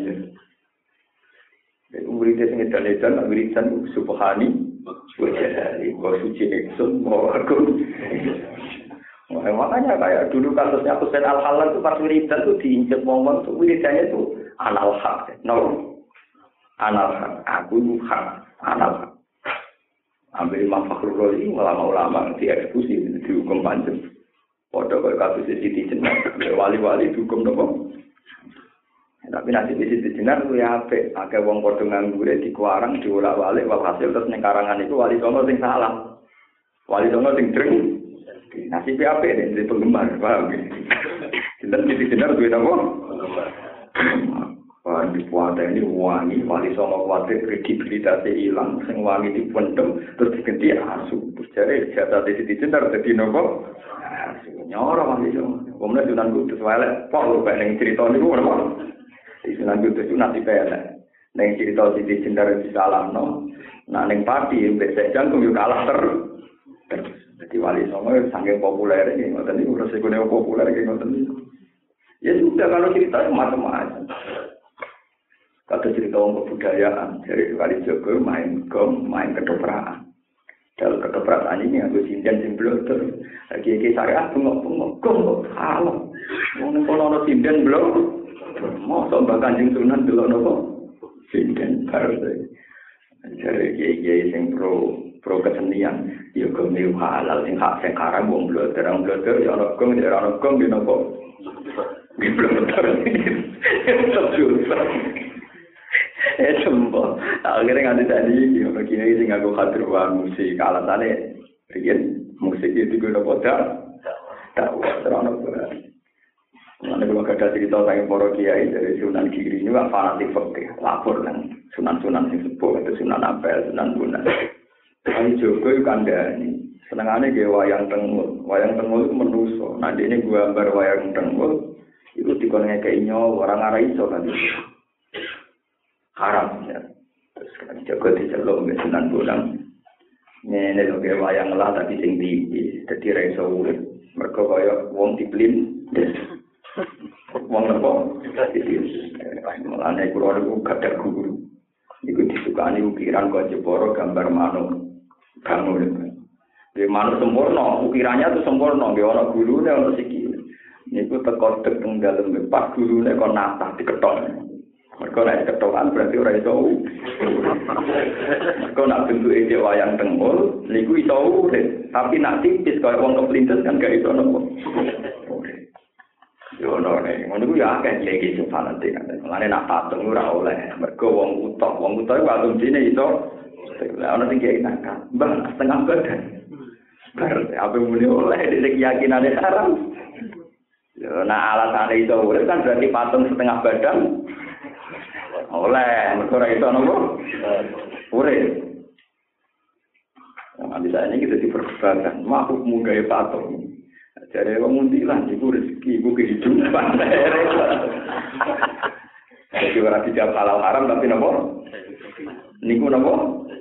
Wiridnya sing edan-edan, wiridan subhani wa jalali. Wa suci neksun, wa agung. Makanya kayak dulu kasusnya Husain al-Halal itu pas wiridan itu diinjek momen itu wiridannya itu anal hak. No. Anal hak. Aku hak. Anal hak. Ambil Imam Fakhrul Razi, ulama-ulama dieksekusi, dihukum panjang. Padha kaya kasus Siti Jenar, wali-wali dihukum nopo. Tapi nasib Siti Jenar ku ya apik, akeh wong padha nganggure dikuarang diolak-walik walhasil terus ning karangan iku wali songo sing salah. Wali songo sing dreng. Nasib apik nek di penggemar, paham ya. Sinten Siti Jenar duwe nopo? Wah, di puasa ini wangi, wali songo kuatir kredibilitasnya hilang, sing wangi dipendem, terus diganti asu. Terus jadi jatah di sini jentar, jadi nopo asu. Nyorong wali songo. Kemudian Sunan Kudus walek, kok lu pengen cerita ini, gue nopo. Di Sunan Kudus itu nanti pelek. Neng cerita di jentar di salam, no. Nah, neng pati, besok jantung juga kalah terus. Jadi wali songo saking populer ini, ngoten ini udah sekolah populer kayak ngoten ini. Ya sudah kalau ceritanya macam-macam. Kata cerita orang kebudayaan, dari kali Joko main gong, main ketoprak. Dalam ketoprak ini aku sinden simbol terus. Lagi-lagi saya bengok-bengok, gong kok salah. Mungkin kalau ada sinden belum, mau sobat Kanjeng Sunan dulu nopo sinden baru saya. Jadi kiai-kiai yang pro pro kesenian, ya gong itu halal, yang hak sekarang gong belum terang belum terang, ya orang gong, ya orang gong di nopo. Di belum terang ini, terjusah. Eh sembo, akhirnya nganti tadi, begini sih nggak gue khawatir musik, alasannya, begini musik itu gue udah bodoh, tahu terang apa? Nanti kalau ada cerita tentang para kiai dari Sunan Giri ini nggak fanatik fakir, lapor kan, Sunan-Sunan yang sepuh itu Sunan Ampel, Sunan Bunga. Tapi Joko itu kandani, senengannya gue wayang tengul, wayang tengul itu menuso. Nanti ini gue gambar wayang tengul, itu dikonnya kayaknya orang arah iso kan. Haram ya. Terus kan jago diceluk mbek Sunan Bonang. Ngene lho ge wayang lah tapi sing tinggi, dadi ra iso urip. Mergo mergo kaya wong diplin. Wong nopo? Mulane kula niku gadah guru. Iku disukani ukiran kok Jepara gambar manuk bangun. Di manuk sempurna, ukirannya itu sempurna, nggih ana gulune ana sikile. Niku teko tek teng dalem pas gulune kok natah diketok. Mergo nek ketokan berarti ora iso. Mergo nek bentuke cek wayang tengul niku iso urip, tapi nek tipis kaya wong keplintes kan gak iso nopo. Yo ono nek ngono ku ya akeh iki sing fanate kan. Mulane nak patung ora oleh. Mergo wong utok, wong utok iku asumsine iso. Lah ono sing kiai nakal. Mbah setengah badan. Bar apa muni oleh iki keyakinane haram. Yo nak alasane iso urip kan berarti patung setengah badan. Oleh, mergo ora iso nopo? Urip. Nah, bisa ini kita diperdebatkan. Makhluk munggahe patung. Jare wong mundilan iku rezeki iku kehidupan. Jadi ora dijawab halal haram tapi napa? Niku napa?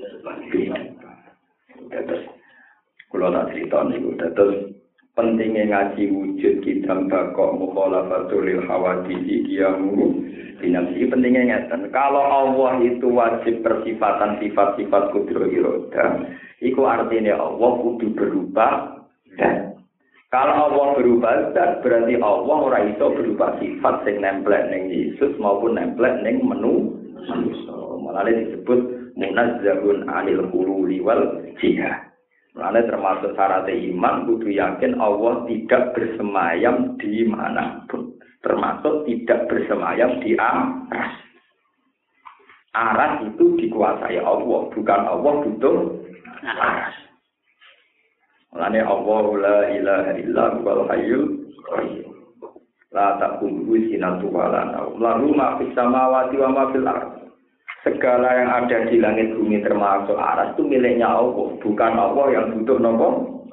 Terus kula tak cerita niku terus pentingnya ngaji wujud kita bakok mukhalafatul hawadisi kiyamu dinamsi pentingnya ngeten. Kalau Allah itu wajib persifatan sifat-sifat kudro iroda, iku artinya Allah kudu berubah dan kalau Allah berubah zat berarti Allah ora iso berubah sifat sing nemplek ning Yesus maupun nemplek ning menu manusia. Malah disebut munazzahun anil hululi wal jihad. Malah termasuk syarat iman kudu yakin Allah tidak bersemayam di manapun. Termasuk tidak bersemayam di aras. Aras itu dikuasai Allah, bukan Allah butuh aras. Mulane Allah la ilaha illa huwal hayyul qayyum. La taqulu sinatu wala naum. Lahu ma fis samawati wa ma fil ardh. Segala yang ada di langit bumi termasuk aras itu miliknya Allah, bukan Allah yang butuh nopo.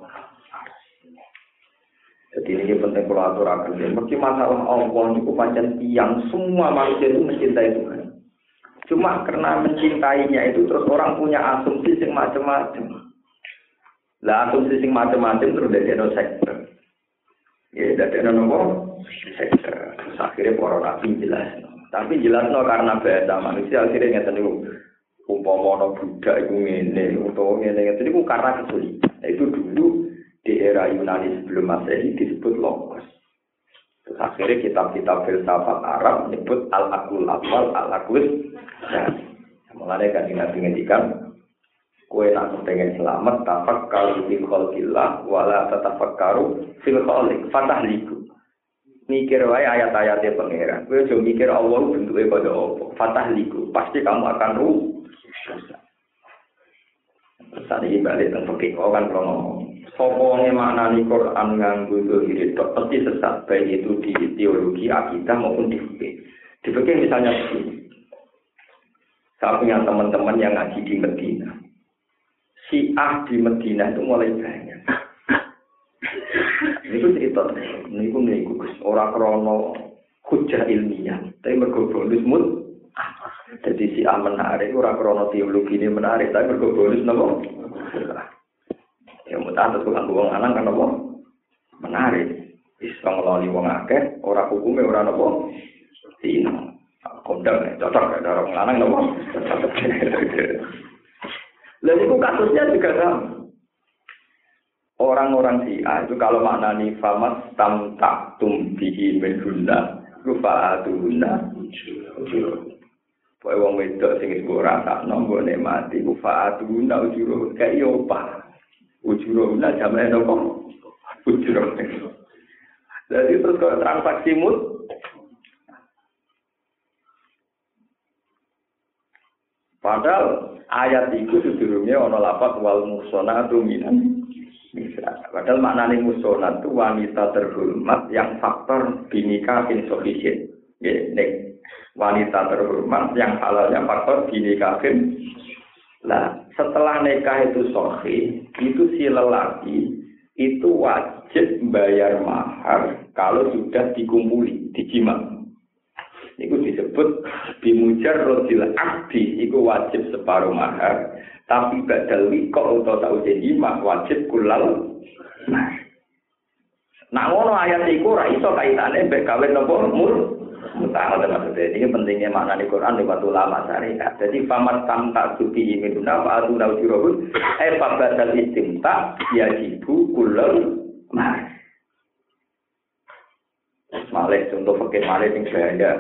Jadi ini penting kalau aturakan. Mesti masalah Allah itu pancen tiang semua manusia itu mencintai Tuhan. Cuma karena mencintainya itu terus orang punya asumsi yang macam-macam. Lah asumsi sing macam-macam terus dadekno sektor. Ya dadekno nopo? Sektor. Terus akhirnya para nabi jelas. Tapi jelasno karena bahasa manusia akhirnya ngeten niku. Umpama ana budak iku ngene, utawa ngene ngeten niku karena kesulitan. Nah, itu dulu di era Yunani sebelum Masehi disebut logos. Terus akhirnya kitab-kitab filsafat Arab menyebut al-aqlul awal, al-aqlus. Nah, mulane kan Nabi ngendikan kowe nak pengen selamat tafakkaru fil khalqillah wala tatafakkaru fil khaliq fatahliku. Mikir wae ayat-ayatnya pangeran. Kowe aja mikir Allah bentuke kaya apa. Fatahliku, pasti kamu akan rusak. Terus ini balik teng fikih kan kalau ngomong. Sapa wong maknani Quran nganggo zahir tok pasti sesat baik itu di teologi akidah maupun di fikih. Di fikih misalnya begini. Saya punya teman-teman yang ngaji di Medina. Syiah di Medina itu mulai banyak. Ini pun cerita, ini pun ini orang krono hujah ilmiah, tapi mergo bonus mut. Jadi Syiah menarik, orang krono teologi ini menarik, tapi mergo bonus nopo. Ya mutah terus kan wong lanang kan nopo menarik. Bisa ngeloni wong akeh, orang hukumnya orang nopo. Dino, kondang cocok ada orang lanang nopo. Lalu itu kasusnya juga sama. Orang-orang Syiah itu kalau maknani famas tam tak tumbihi menhuna rufaatuhuna ujur. Poe wong wedok sing wis ora sakno nggone mati rufaatuhuna ujur kae yo pa. Ujuruna jamane nopo? Ujur. Jadi terus kalau transaksi mut padahal ayat itu sedurunge ana lafaz wal muhsanatu minan nisa. Padahal maknane muhsanat itu wanita terhormat yang faktor binikahin sufficient. Nggih, nek wanita terhormat yang halalnya faktor binikahin. Lah, setelah nikah itu sahih, itu si lelaki itu wajib bayar mahar kalau sudah dikumpuli, dijima. Itu disebut bimujarrodil akdi, itu wajib separuh mahar. Tapi badal wiko atau tahu jima wajib kulal mahar. Nak ngono ayat iku ora iso kaitane mbek kawin napa mur. Mutah maksudnya ini pentingnya makna di Quran lewat ulama syariat. Jadi famat tamta suki minuna fa atuna ujurahun eh fabadal istimta yajibu kulal mas. Malik contoh fakir malik yang saya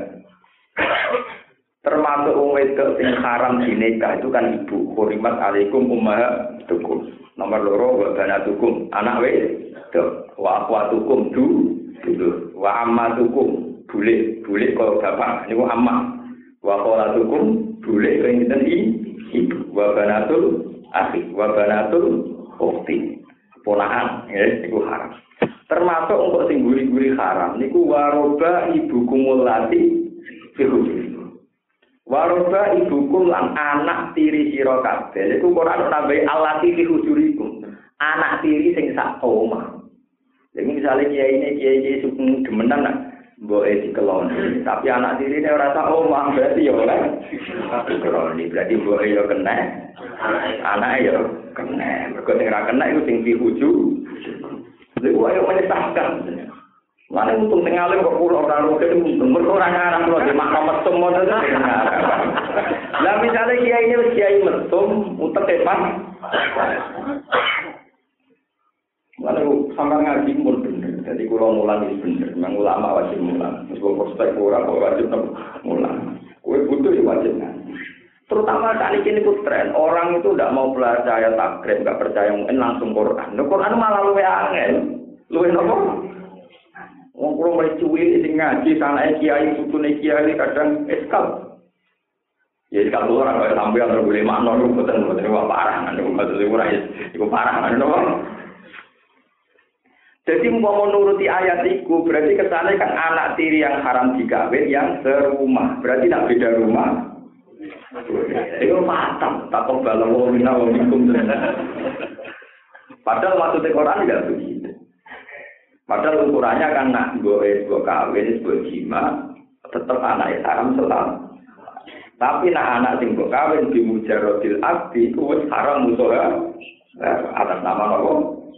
termasuk wong wedok sing haram dinikah itu kan ibu. Hurimat alaikum ummahatukum. Nomor loro wa banatukum anak wedok wa akhwatukum du dulur wa ammatukum boleh boleh kalau bapak niku amma wa qalatukum boleh kaya ngeten ibu wa banatul akhi wa banatul ukhti ponakan ya niku haram termasuk untuk sing guri-guri haram niku waroba ibukum lati fihukum waroba ibukum lan anak tiri sira kabeh niku Quran nambahi alati fihujurikum anak tiri sing sak omah jadi misalnya kiai ini kiai suku demenan nak boe dikeloni tapi anak tiri ini ora sak omah berarti ya ora dikeloni berarti boe ya kena anak ya kena mergo sing ora kena iku sing dihuju lha ayo menyesatkan mana untung sing alim kok kula ora rugen untung mergo ora ngarang kula di makam mesum ngoten lah misale kiai ini wis kiai mesum utek tepan mana sampai ngaji pun bener. Jadi kalau mulang itu bener. Memang ulama wajib mulang. Meskipun prospek orang wajib mulang. Kue butuh ya wajib ngaji. Terutama kali ini pun tren. Orang itu tidak mau percaya takrib, nggak percaya mungkin langsung Quran. Nah, Quran malah luwe angel. Luwe nopo? Wong kulo mulai cuwil sing ngaji sanake kiai sutune kiai kadang eskal. Ya eskal orang kaya sampean boleh makna niku boten boten parah. Niku maksud ora iku parah nopo? Jadi mau menuruti ayat itu berarti kesana kan anak tiri yang haram dikawin yang serumah. Berarti tidak beda rumah. Itu matang. Takut balau mina wamikum. Padahal maksudnya Quran tidak begitu. Padahal ukurannya kan nak gue gue kawin gue jima tetap anak haram selalu. Tapi nak anak sing gue kawin di mujarodil abdi itu haram musoha atas nama apa?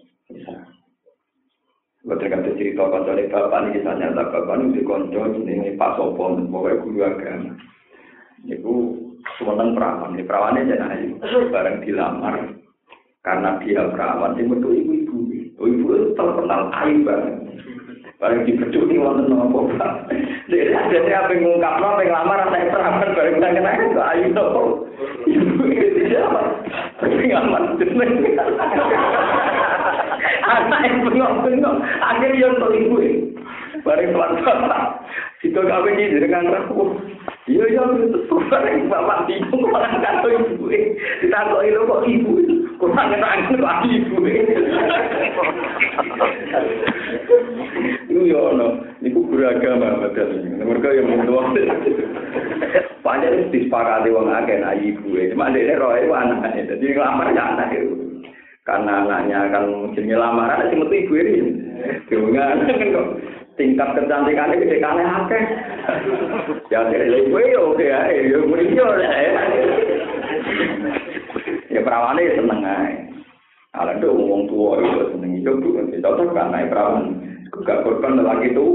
Betul kata cerita pasal bapak ini kisahnya tak bapak ini dikonco ini Pak Sopon pokoknya guru agama. Itu semenang perawan, ini perawannya jangan ayu bareng dilamar karena dia perawan dia betul ibu-ibu, ibu itu terkenal ayu banget. Bareng dipecuk nih wonten nopo pak. Jadi ada apa ngungkap nopo ngelamar anak perawan bareng kita kenal itu ayu nopo. Ibu itu siapa? Pengaman jeneng. Anak yang bengok-bengok, akhirnya yang ibu bareng tuan-tuan. Situ kami ini dengan rapuh. Iya, iya, itu bareng bapak bingung, orang kata ibu. Ditakut itu kok ibu. Kurang ngerangin kok ibu. Itu ya, no. Itu beragama. Mereka yang mentua. Panjang itu disepakati orang agen ibu. Cuma dia roh itu anaknya. Jadi ngelamarnya anak itu. Karena anaknya akan jenis lamaran, si metu ibu ini. Dengan kok tingkat kecantikannya gede kane akeh. Ya kira ibu ya oke ya, ya muridnya ya. Ya perawannya seneng aja. Kalau ada ngomong tua itu seneng hidup tuh, cocok kan naik perawan. Gak korban lelaki itu.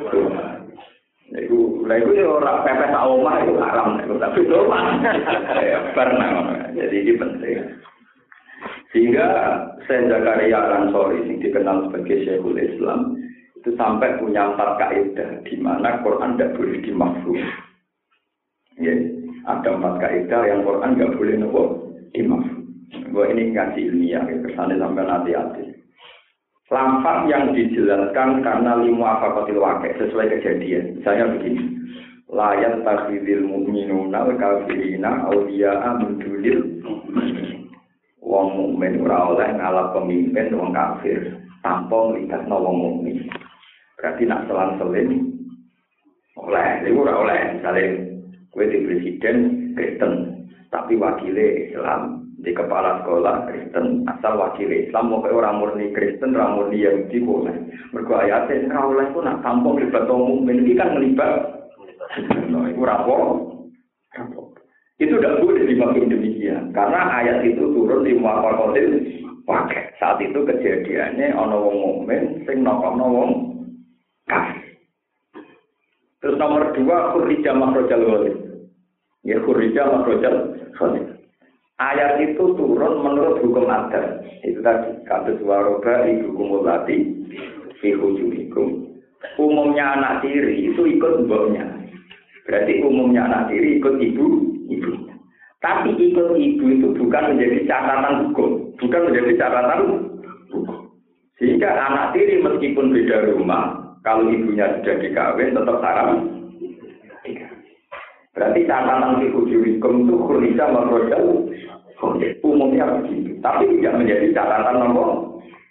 Itu, lah itu ya orang pepes omah itu haram, tapi itu mah pernah. Jadi ini penting. Sehingga Syekh Zakaria Al-Ansori yang dikenal sebagai Syekhul Islam itu sampai punya empat kaidah di mana Quran tidak boleh dimafhum. Ya, ada empat kaidah yang Quran tidak boleh nopo dimafhum. Gua ini ngaji ilmiah, ya, kesannya sampai hati-hati. Lafaz yang dijelaskan karena limu afakotil wakil sesuai kejadian. Misalnya begini, layat takhidil mu'minuna wa kafirina awliya'a min dunil wong mukmin ora oleh ngalap pemimpin wong kafir tanpa melibatno wong mukmin. Berarti nak selang-seling oleh, iku ora oleh. Misale kowe di presiden Kristen, tapi wakile Islam, di kepala sekolah Kristen, asal wakile Islam mau ora murni Kristen, ora murni Yahudi boleh. Mergo ayate ora oleh ku nak tanpa melibatno wong mukmin iki kan melibat. Nah, iku ora apa. Itu tidak boleh dimaksud demikian, karena ayat itu turun di muafakotil pakai. Saat itu kejadiannya ana wong mukmin sing nokokno wong kafir. Terus nomor dua khurija makhrajal ghalib. Ya khurija makhrajal ghalib. Ayat itu turun menurut hukum adat. Itu tadi kados waroba hukum mulati fi hujumikum. Umumnya anak tiri itu ikut mboknya. Berarti umumnya anak tiri ikut ibu, ibunya. Tapi ikut ibu itu bukan menjadi catatan hukum, bukan menjadi catatan hukum. Sehingga anak tiri meskipun beda rumah, kalau ibunya sudah dikawin tetap haram. Berarti catatan hukum itu khurija makhrajal umumnya begitu, tapi tidak menjadi catatan nomor.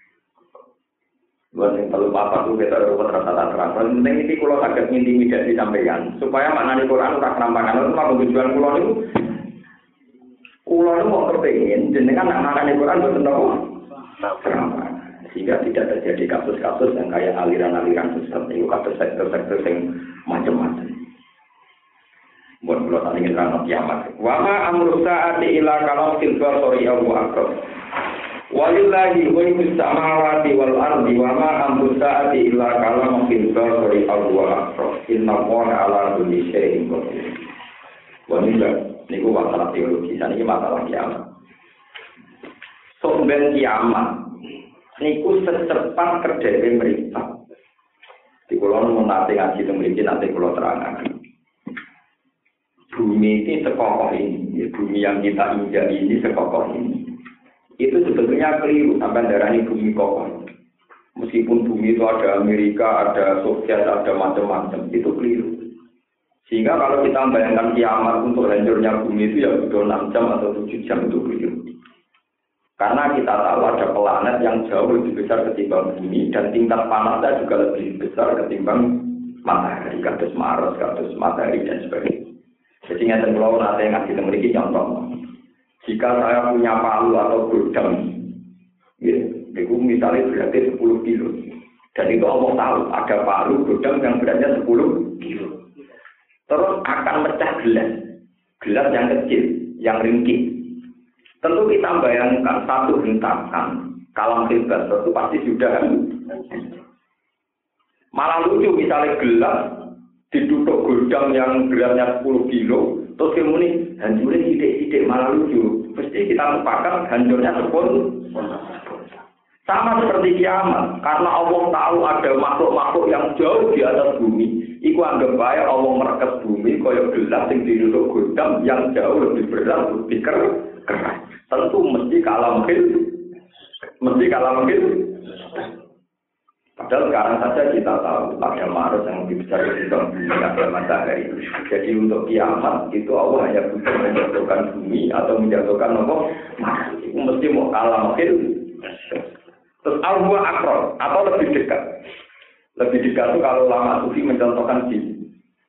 Buat yang perlu apa tuh kita ruwet rata-rata terang. Penting ini kalau agak intimidasi sampaikan supaya makna di Quran tak nampakan itu mah tujuan pulau itu. Pulau itu mau terpengen, jenengan nak makan di Quran betul nopo. Sehingga tidak terjadi kasus-kasus yang kayak aliran-aliran sesat itu kasus sektor-sektor yang macam-macam. Buat pulau tadi ingin terang kiamat. Wama amru saati ila kalau silva sorry Abu Akbar. Walillahi ghaibus samawati wal ardi wa ma amru sa'ati illa kalamun fil basari aw akbar. Inna Allaha 'ala kulli syai'in qadir. Wanita niku masalah teologi, saniki masalah kiamat. Somben kiamat niku secepat kedhewe mripat. Di kula mun nate ngaji teng mriki nate kula terangaken. Bumi ini sekokoh ini, ya, bumi yang kita injak ini sekokoh ini. Itu sebetulnya keliru sampai darahnya bumi kokoh. Meskipun bumi itu ada Amerika, ada Soviet, ada macam-macam, itu keliru. Sehingga kalau kita membayangkan kiamat untuk hancurnya bumi itu ya butuh enam jam atau tujuh jam itu keliru. Karena kita tahu ada planet yang jauh lebih besar ketimbang bumi dan tingkat panasnya juga lebih besar ketimbang matahari, kados Mars, kados matahari dan sebagainya. Jadi ngeten kula nate ngaji teng mriki contoh. Jika saya punya palu atau godam, ya, itu misalnya beratnya sepuluh kilo. Dan itu Allah tahu, ada palu godam yang beratnya sepuluh kilo. Terus akan pecah gelas. Gelas yang kecil, yang ringkih. Tentu kita bayangkan satu hentakan, kalam bebas, itu pasti sudah. Malah lucu misalnya gelas, ditutup godam yang beratnya sepuluh kilo, terus kemudian hancurnya sidik-sidik malah lucu. Mesti kita lupakan hancurnya sepuluh. Sama seperti kiamat, karena Allah tahu ada makhluk-makhluk yang jauh di atas bumi. Iku anggap baik Allah merekes bumi kaya gelas yang ditutup godam yang jauh lebih berat, lebih keras. Tentu mesti kalah mungkin, mesti kalah mungkin. Padahal sekarang saja kita tahu ada Mars yang lebih besar ketimbang bumi, ada matahari. Jadi untuk kiamat itu Allah hanya butuh menjatuhkan bumi atau menjatuhkan apa? Mars. Itu mesti mau kalah mungkin. Terus al-huwa akron atau lebih dekat. Lebih dekat itu kalau lama sufi mencontohkan di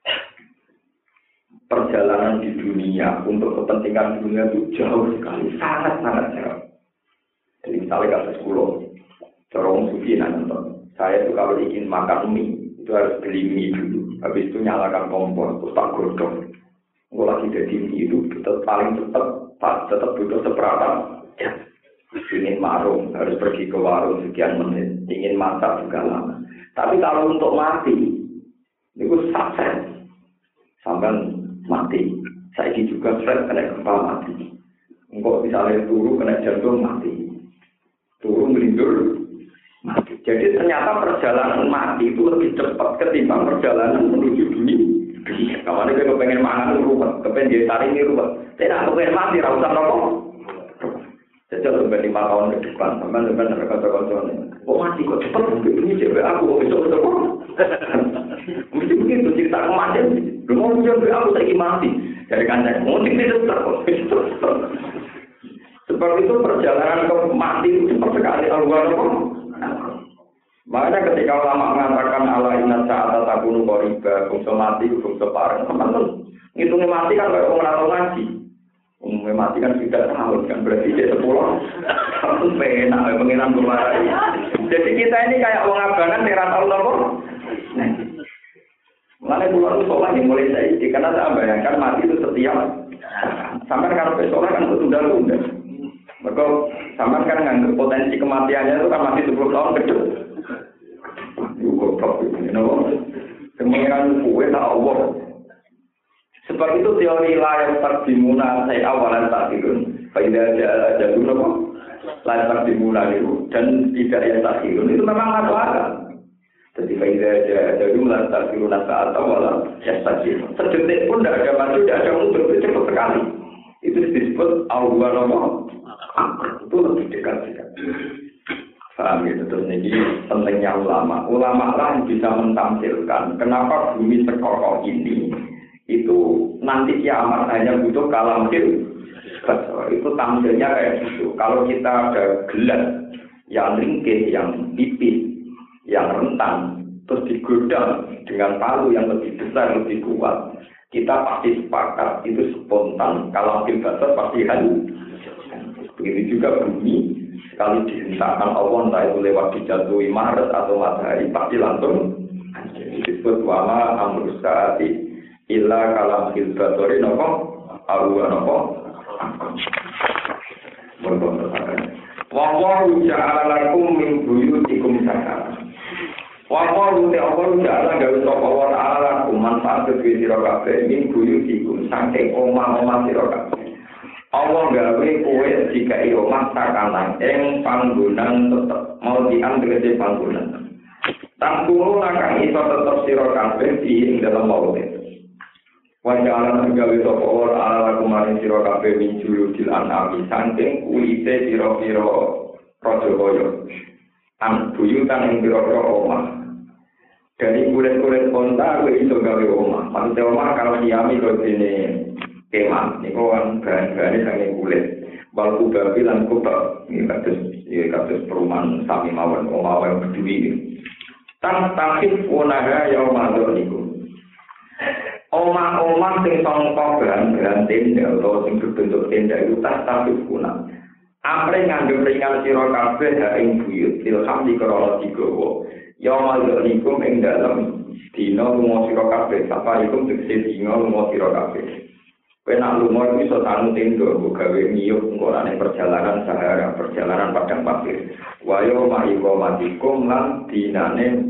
perjalanan di dunia untuk kepentingan dunia itu jauh sekali, sangat-sangat jauh. Jadi misalnya kasus pulau, corong sufi nanti. Saya itu kalau ingin makan mie, itu harus beli mie dulu. Habis itu nyalakan kompor, terus tak godong. Kalau lagi jadi mie itu, tetap paling cepat, tetap butuh seperempat jam. Ingin marung, harus pergi ke warung sekian menit. Ingin masak juga lama. Tapi kalau untuk mati, itu sukses. Sampai mati. Saya juga stres kena gempa mati. Engkau misalnya turun kena jantung mati. Turun melindur mati. Jadi ternyata perjalanan mati itu lebih cepat ketimbang perjalanan menuju dunia. Kamu ini kepengen mangan ruwet, kepengen dia tarik ini ruwet. Tidak kepengen mati, rausan rokok. Sejak sampai lima tahun ke depan, sampai sampai mereka terkontrol. Oh mati kok cepat, ini cewek aku kok besok besok. Mesti begitu cerita kemarin. Lu mau cewek aku lagi mati. Dari kancing, mau cerita terus. Sebab itu perjalanan ke mati itu cepat sekali. Alhamdulillah. Makanya ketika ulama mengatakan ala inna sa'ata takunu qariba, bangsa mati bangsa pareng, teman-teman. Ngitungnya mati kan kayak orang atau ngaji. Umumnya mati kan sudah tahun kan berarti dia sepuluh tahun penak pengiran kemarin. Jadi kita ini kayak orang abangan yang tahu nopo. Mulai bulan sholat yang mulai saya karena saya bayangkan mati itu setiap sampai kalau sholat kan tunda-tunda. Mereka sama kan nganggep potensi kematiannya itu kan masih sepuluh tahun ke depan. Juga goblok ini, kenapa? Kemenangan kue tak Allah. Sebab itu teori layar terdimuna saya awalan tak dirun. Faidah jadul apa? Layar terdimuna itu dan tidak yang tak dirun itu memang masuk akal. Jadi faidah jadul layar terdimuna saat awalan yang tak dirun. Sedetik pun tidak ada maju, tidak ada mundur, cepat sekali. Itu disebut awalan apa? Itu lebih dekat sekali. Paham gitu, terus ini pentingnya ulama. Ulama lah yang bisa mentampilkan kenapa bumi sekokoh ini itu nanti kiamat hanya butuh kalam fil. Itu tampilnya kayak gitu. Kalau kita ada gelas yang ringkih, yang tipis, yang rentan, terus digodam dengan palu yang lebih besar, lebih kuat, kita pasti sepakat itu spontan. Kalam fil basar pasti halu. Begitu juga bumi. Sekali dihentakkan Allah, entah itu lewat dijatuhi Maret atau matahari, pasti langsung disebut wama amrus saati illa kalam hilbatori nopo awa nopo wawahu ja'ala lakum min buyutikum sakara wawahu te'awal ja'ala gawe sopa wa ta'ala lakum manfaat kedua sirokabe min buyutikum sangking omah-omah sirokabe Allah gawe kowe jika iyo masa kanan ing panggonan tetep mau diambil di panggonan. Tangkulu nakang iso tetep sira kabeh di ing dalam maut. Wajalan gawe sapa ora ala kumaring sira kabeh minjulu dil anami saking kulite pira-pira raja kaya. An buyutan ing pira-pira omah. Dari kulit-kulit onta kowe iso gawe omah. Maksud omah kalau diami kok dene kemah, ini kan bahan-bahannya sangat kulit. Balku babi lan kubab, ini kasus, ini kasus perumahan sami mawon, omawan berdui. Tan takif unaha yaum adzoniku. Omah-omah sing sangka bahan-bahan tenda atau sing berbentuk tenda itu tas takif unah. Apre ngandung ringan sira kabeh ha ing buyut, ilham dikrana digawa. Yaum adzoniku ing dalem dina lunga sira kabeh, sapa iku tegese dina lunga sira kabeh. Kena lumur iso tanu tendo gawe ngiyup ngorane perjalanan sahara, perjalanan padang pasir. Wayo ma'iko matikum lan dinane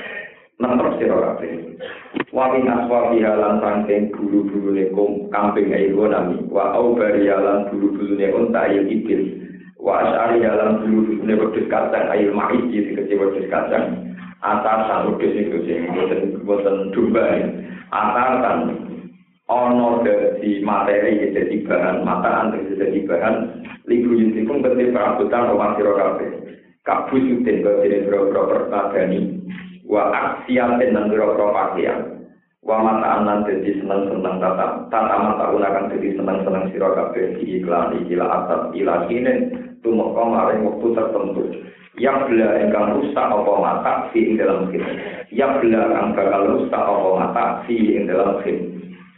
nemper sira kabeh. Wa min aswabi halan sangking bulu-bulune kambing ayo nami. Wa au barialan bulu-bulune unta ayo ibil. Wa asari halan bulu-bulune wedhus kacang ayo mais iki kecil wedhus kacang. Atasan wedhus iku sing boten boten domba. Atasan ono dari materi jadi bahan mataan jadi bahan libu yusikum ketika perabotan rumah siro kafe kabus yutin ketika biro-biro pertagani wa aksiatin dan biro-biro pakaian wa mataan dan jadi senang-senang tata tata mata unakan jadi senang-senang siro kafe di iklan ikila atas ilah kini tumuk kemarin waktu tertentu yang bela engkang rusak apa mata si ing dalam khim yang bela engkang bakal rusak apa mata si ing dalam khim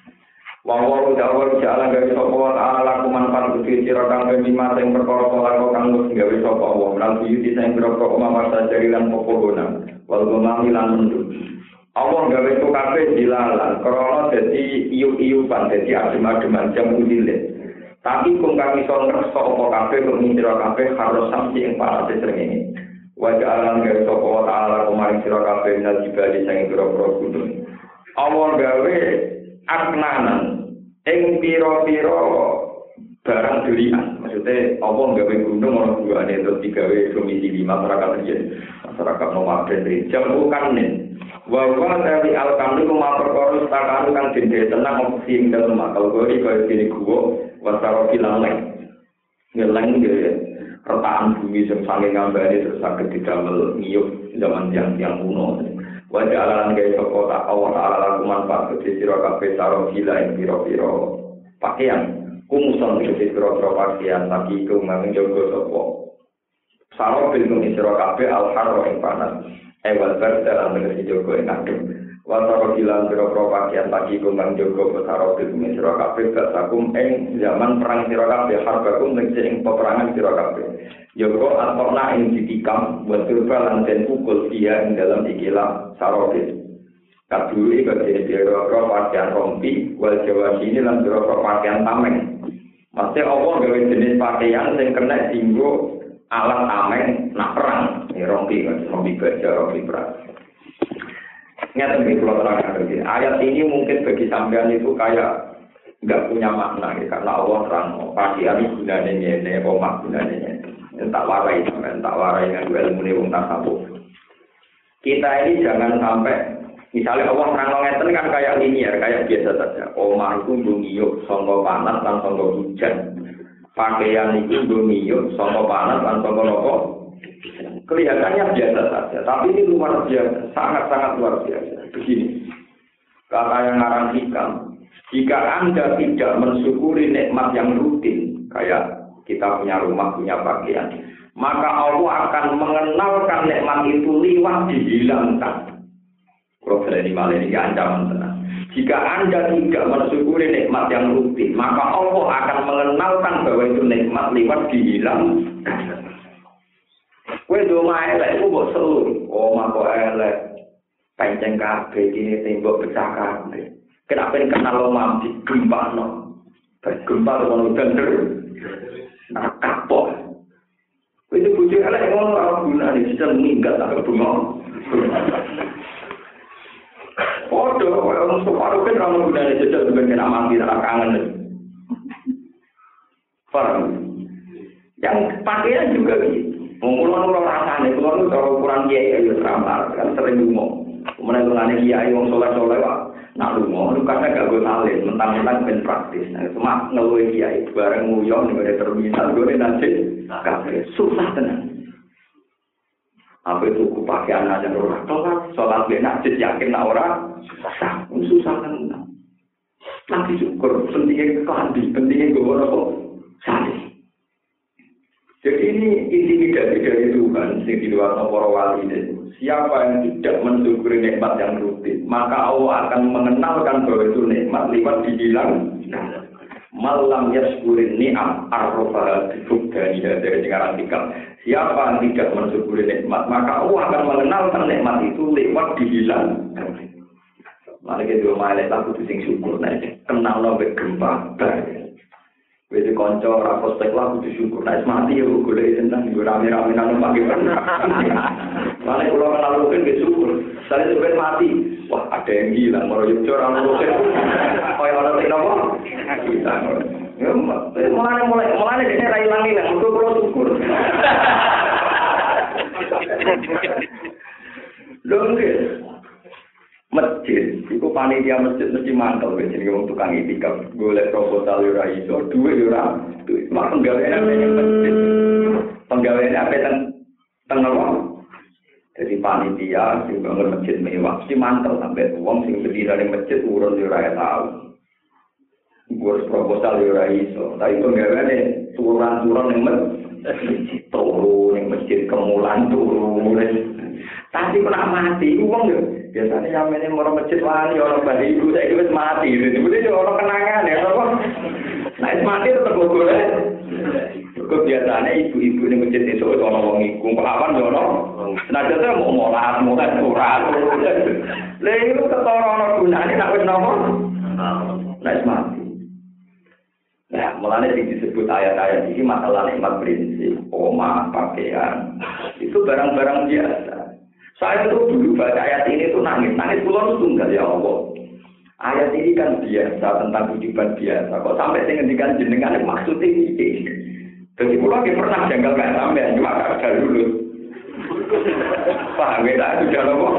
Wawaru dawar ja'ala gawe sapa wa ta'ala laku manfaat kudu sira kang bima sing perkara kala kang wis gawe sapa wa lan yuti sing pira omah masa jari lan popohonan wal gomami lan mendut Allah gawe itu kabeh dilalan krana dadi iyu-iyupan dadi adem-ademan jam udile tapi kung kang iso ngerso apa kabeh kok sira kabeh harus samsi ing parate srengenge wa ja'ala gawe sapa wa ta'ala kumaring sira kabeh nal jibali sing pira-pira gunung Allah gawe aknanan ing pira-pira barang durian maksudnya apa gawe gunung ana buane terus digawe domisili masyarakat riyen masyarakat nomaden jam bukan nih wa wa dari al-kamil ma perkara satakan kang dene tenang opsi ing dalem akal gori kaya dene guwa wasaro kilang ngeleng ge retakan bumi sing saking ngambane terus saged didamel ngiyup zaman yang yang kuno wajah alalan gaya soko tak awal ala manfaat kecil siro kafe saro gila yang piro-piro pakaian kumusan kecil piro-piro pakaian lagi ke ngangin jogo soko saro bilung siro kafe al-haro yang panas ewal berdalam dengan si jogo yang adem wasaro gila piro-piro pakaian lagi ke ngangin jogo saro bilung siro kafe basakum eng zaman perang siro kafe harbakum dengan peperangan siro kafe Joko atau na ing ditikam buat turbalan dan pukul dia ing dalam ikilah sarobis. Kaduli bagi biro pakaian rompi, wal jawa sini lan biro pakaian tameng. Maksudnya Allah gawe jenis pakaian yang kena tinggu alat tameng nak perang. Ini rompi kan, rompi baja, rompi perang. Ingat lebih pulau terang lagi. Ayat ini mungkin bagi sampean itu kayak nggak punya makna ya, karena Allah terang pakaian ini gunanya ini, omah gunanya ini. Tak warai, tak warai dengan ilmu ini wong tasawuf. Kita ini jangan sampai misalnya Allah terang ngeten kan kayak linear, kayak biasa saja. Omah itu ngiyuk sangka panas lan sangka hujan. Pakaian itu ngiyuk sangka panas lan sangka nopo. Kelihatannya biasa saja, tapi ini luar biasa, sangat-sangat luar biasa. Begini, kata yang ngarang hikam, jika Anda tidak mensyukuri nikmat yang rutin, kayak kita punya rumah, punya pakaian, maka Allah akan mengenalkan nikmat itu liwat dihilangkan. Kalau berani malah ini ancaman tenang. Jika Anda tidak mensyukuri nikmat yang rutin, maka Allah akan mengenalkan bahwa itu nikmat liwat dihilangkan. Kowe do mae elek ku mbok seluruh. Oh, mako elek. Pancen kabeh iki tembok pecah kabeh. Kenapa kenal lo mampi gempano? Bergempal ono bener. Nah, kapok. Kowe itu bojo elek ngono ora gunane bisa minggat tak bengong. Podo ono separo kan ora gunane jajal ben kena mati ora kangen. Paham? Yang pakaian juga gitu. Mengulur ulur rasane, ulur itu cara ukuran kiai ya ramar, kan sering ngomong. Kemudian ulane kiai wong soleh soleh wah, nak ngomong, lu karena gak gue salin, mentang-mentang ben praktis. Nah, cuma ngeluh kiai bareng nguyong nih gue terminal gue nanti, kafe susah tenang. Apa itu ku pakaian aja orang tua, sholat benak, yakin nak orang susah, susah tenang. Nanti syukur, pentingnya kelambi, pentingnya gue orang salin. Jadi ini intimidasi dari Tuhan yang di luar para wali itu. Siapa yang tidak mensyukuri nikmat yang rutin, maka Allah akan mengenalkan bahwa itu nikmat lewat dihilang. Malam yaskurin ni'am arrofa dibukdani dari dengaran tikam. Siapa yang tidak mensyukuri nikmat, maka Allah akan mengenalkan nikmat itu lewat dihilang. Mari kita mulai lagu sing syukur, kenal nabe gempa. Wede konco ora prospek lah kudu syukur. Nek mati ya golek tentang yo rame-rame nang pagi pernah. Mane kula kenal mungkin ge syukur. Sale sampe mati, wah ada yang hilang maro yo ora ono kok. Kaya ora teko apa? Kita. Ya mulane mulai mulane dene ra ilang-ilang, mergo kula syukur. Lho nggih. Masjid, itu panitia masjid mesti mantel, jadi orang tukang itikaf, golek proposal ora iso, duit ora, duit. Mak penggawean apa yang masjid, penggawean apa yang tengah. Jadi panitia, sing bangun masjid mewah, mesti mantel sampai uang sing berdiri dari masjid urun ora tahu. Gue proposal ora iso, tapi penggawean turun-turun yang masjid, turun yang masjid kemulan turun. Tapi pernah mati, uang yo. Biasanya yang ini mau masjid wani orang balik ibu saya itu mati, jadi itu orang kenangan ya, apa? Nah itu mati tetap boleh. Kok biasanya ibu-ibu ini masjid itu orang orang ikut pelawan jono. Nah jadi mau molat, molat surat, lalu itu ketorong orang gunanya nak wes nopo. Nah itu mati. Nah mulanya disebut ayat-ayat ini masalah nikmat prinsip, omah, pakaian, itu barang-barang biasa. Saya itu dulu baca ayat ini tuh nangis, nangis pulau itu tunggal ya Allah. Ayat ini kan biasa tentang kehidupan biasa. Kok sampai saya ngendikan jenengan maksudnya ini. Jadi pulau yang pernah janggal nggak sampai, cuma kakak dulu. Paham ya? Sudah loh.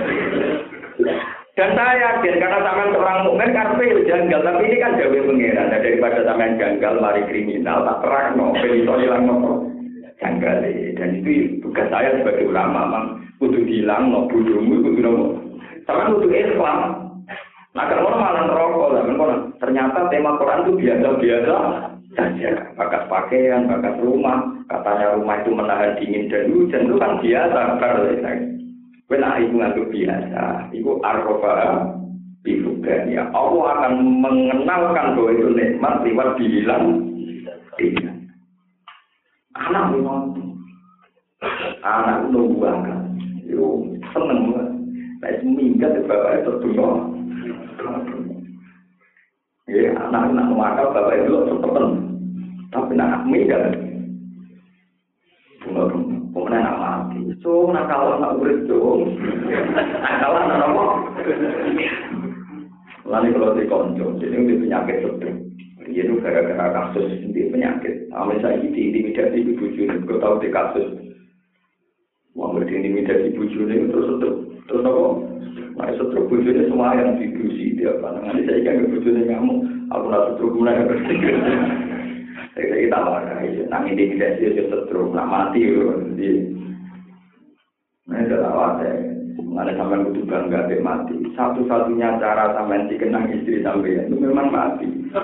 Dan saya yakin karena sampean seorang mukmin karpe janggal, tapi ini kan jauh pengiran. Daripada sampean janggal mari kriminal tak terang no, iso hilang no. Janggal dan itu tugas saya sebagai ulama memang kudu hilang no bodohmu kudu no sama kudu Islam. Nah kalau malah rokok lah kan ternyata tema Quran itu biasa-biasa saja. Bakat pakaian, bakat rumah, katanya rumah itu menahan dingin dan hujan itu kan biasa. Benar itu nggak biasa. Itu arrofa bifugania. Allah akan mengenalkan bahwa itu nikmat lewat dihilang. Tidak. Anak memang, anak nunggu akan, yo seneng lah. Nah seminggat bapak itu dulu, ya anak nak makan bapak itu cepetan, Tapi nak medan. Pemenang nak mati. So nakal nak urip so. Nakal nak apa? Lalu kalau di konco, jadi di penyakit stroke. Dia itu gara-gara kasus di penyakit. Amin saya diintimidasi di bujuni. Kau tahu di kasus. Wah, diintimidasi bujuni terus stroke. Terus apa? Nah, stroke bujuni semua yang didusi dia apa? Nanti saya kan bujuni kamu. Aku nak stroke guna ya. Saya kita marah. Nang intimidasi dia stroke, nak mati loh. Nah, itu awal saya. Ada sampai butuh bangga deh mati. Satu-satunya cara sampai dikenang istri sampai itu memang mati.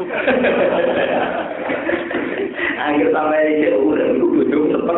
Akhir sampai ke urut itu butuh seper.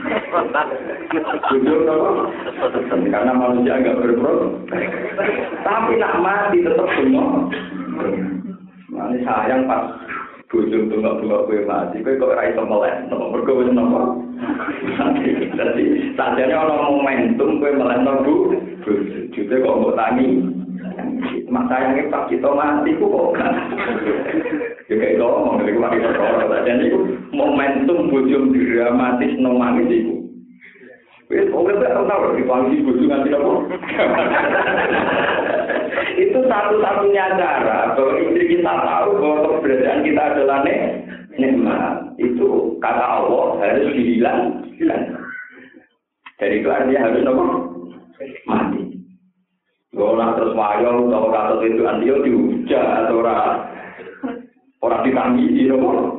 Butuh apa? Karena manusia agak berproses. Tapi nak mati tetap semua. Mana sayang pas bujung tunggu-tunggu gue mati, gue kok rai melek, nomor berkau nomor. Jadi sajane ono momentum gue melek bu, juga kok mau tani. Mak sayangnya pas kita mati, ku kok kan? Juga itu ngomong dari kemarin perkara. Jadi itu momentum bujung dramatis nomangis itu. Wes, oke tak tahu dipanggil bujung nanti apa? Itu satu-satunya cara bahwa istri kita tahu bahwa keberadaan kita adalah nikmat. Itu kata Allah harus dihilang. Jadi itu artinya harus apa? Mati. Kalau terus wayo atau kata itu antio dihujat atau orang orang ditangisi, apa?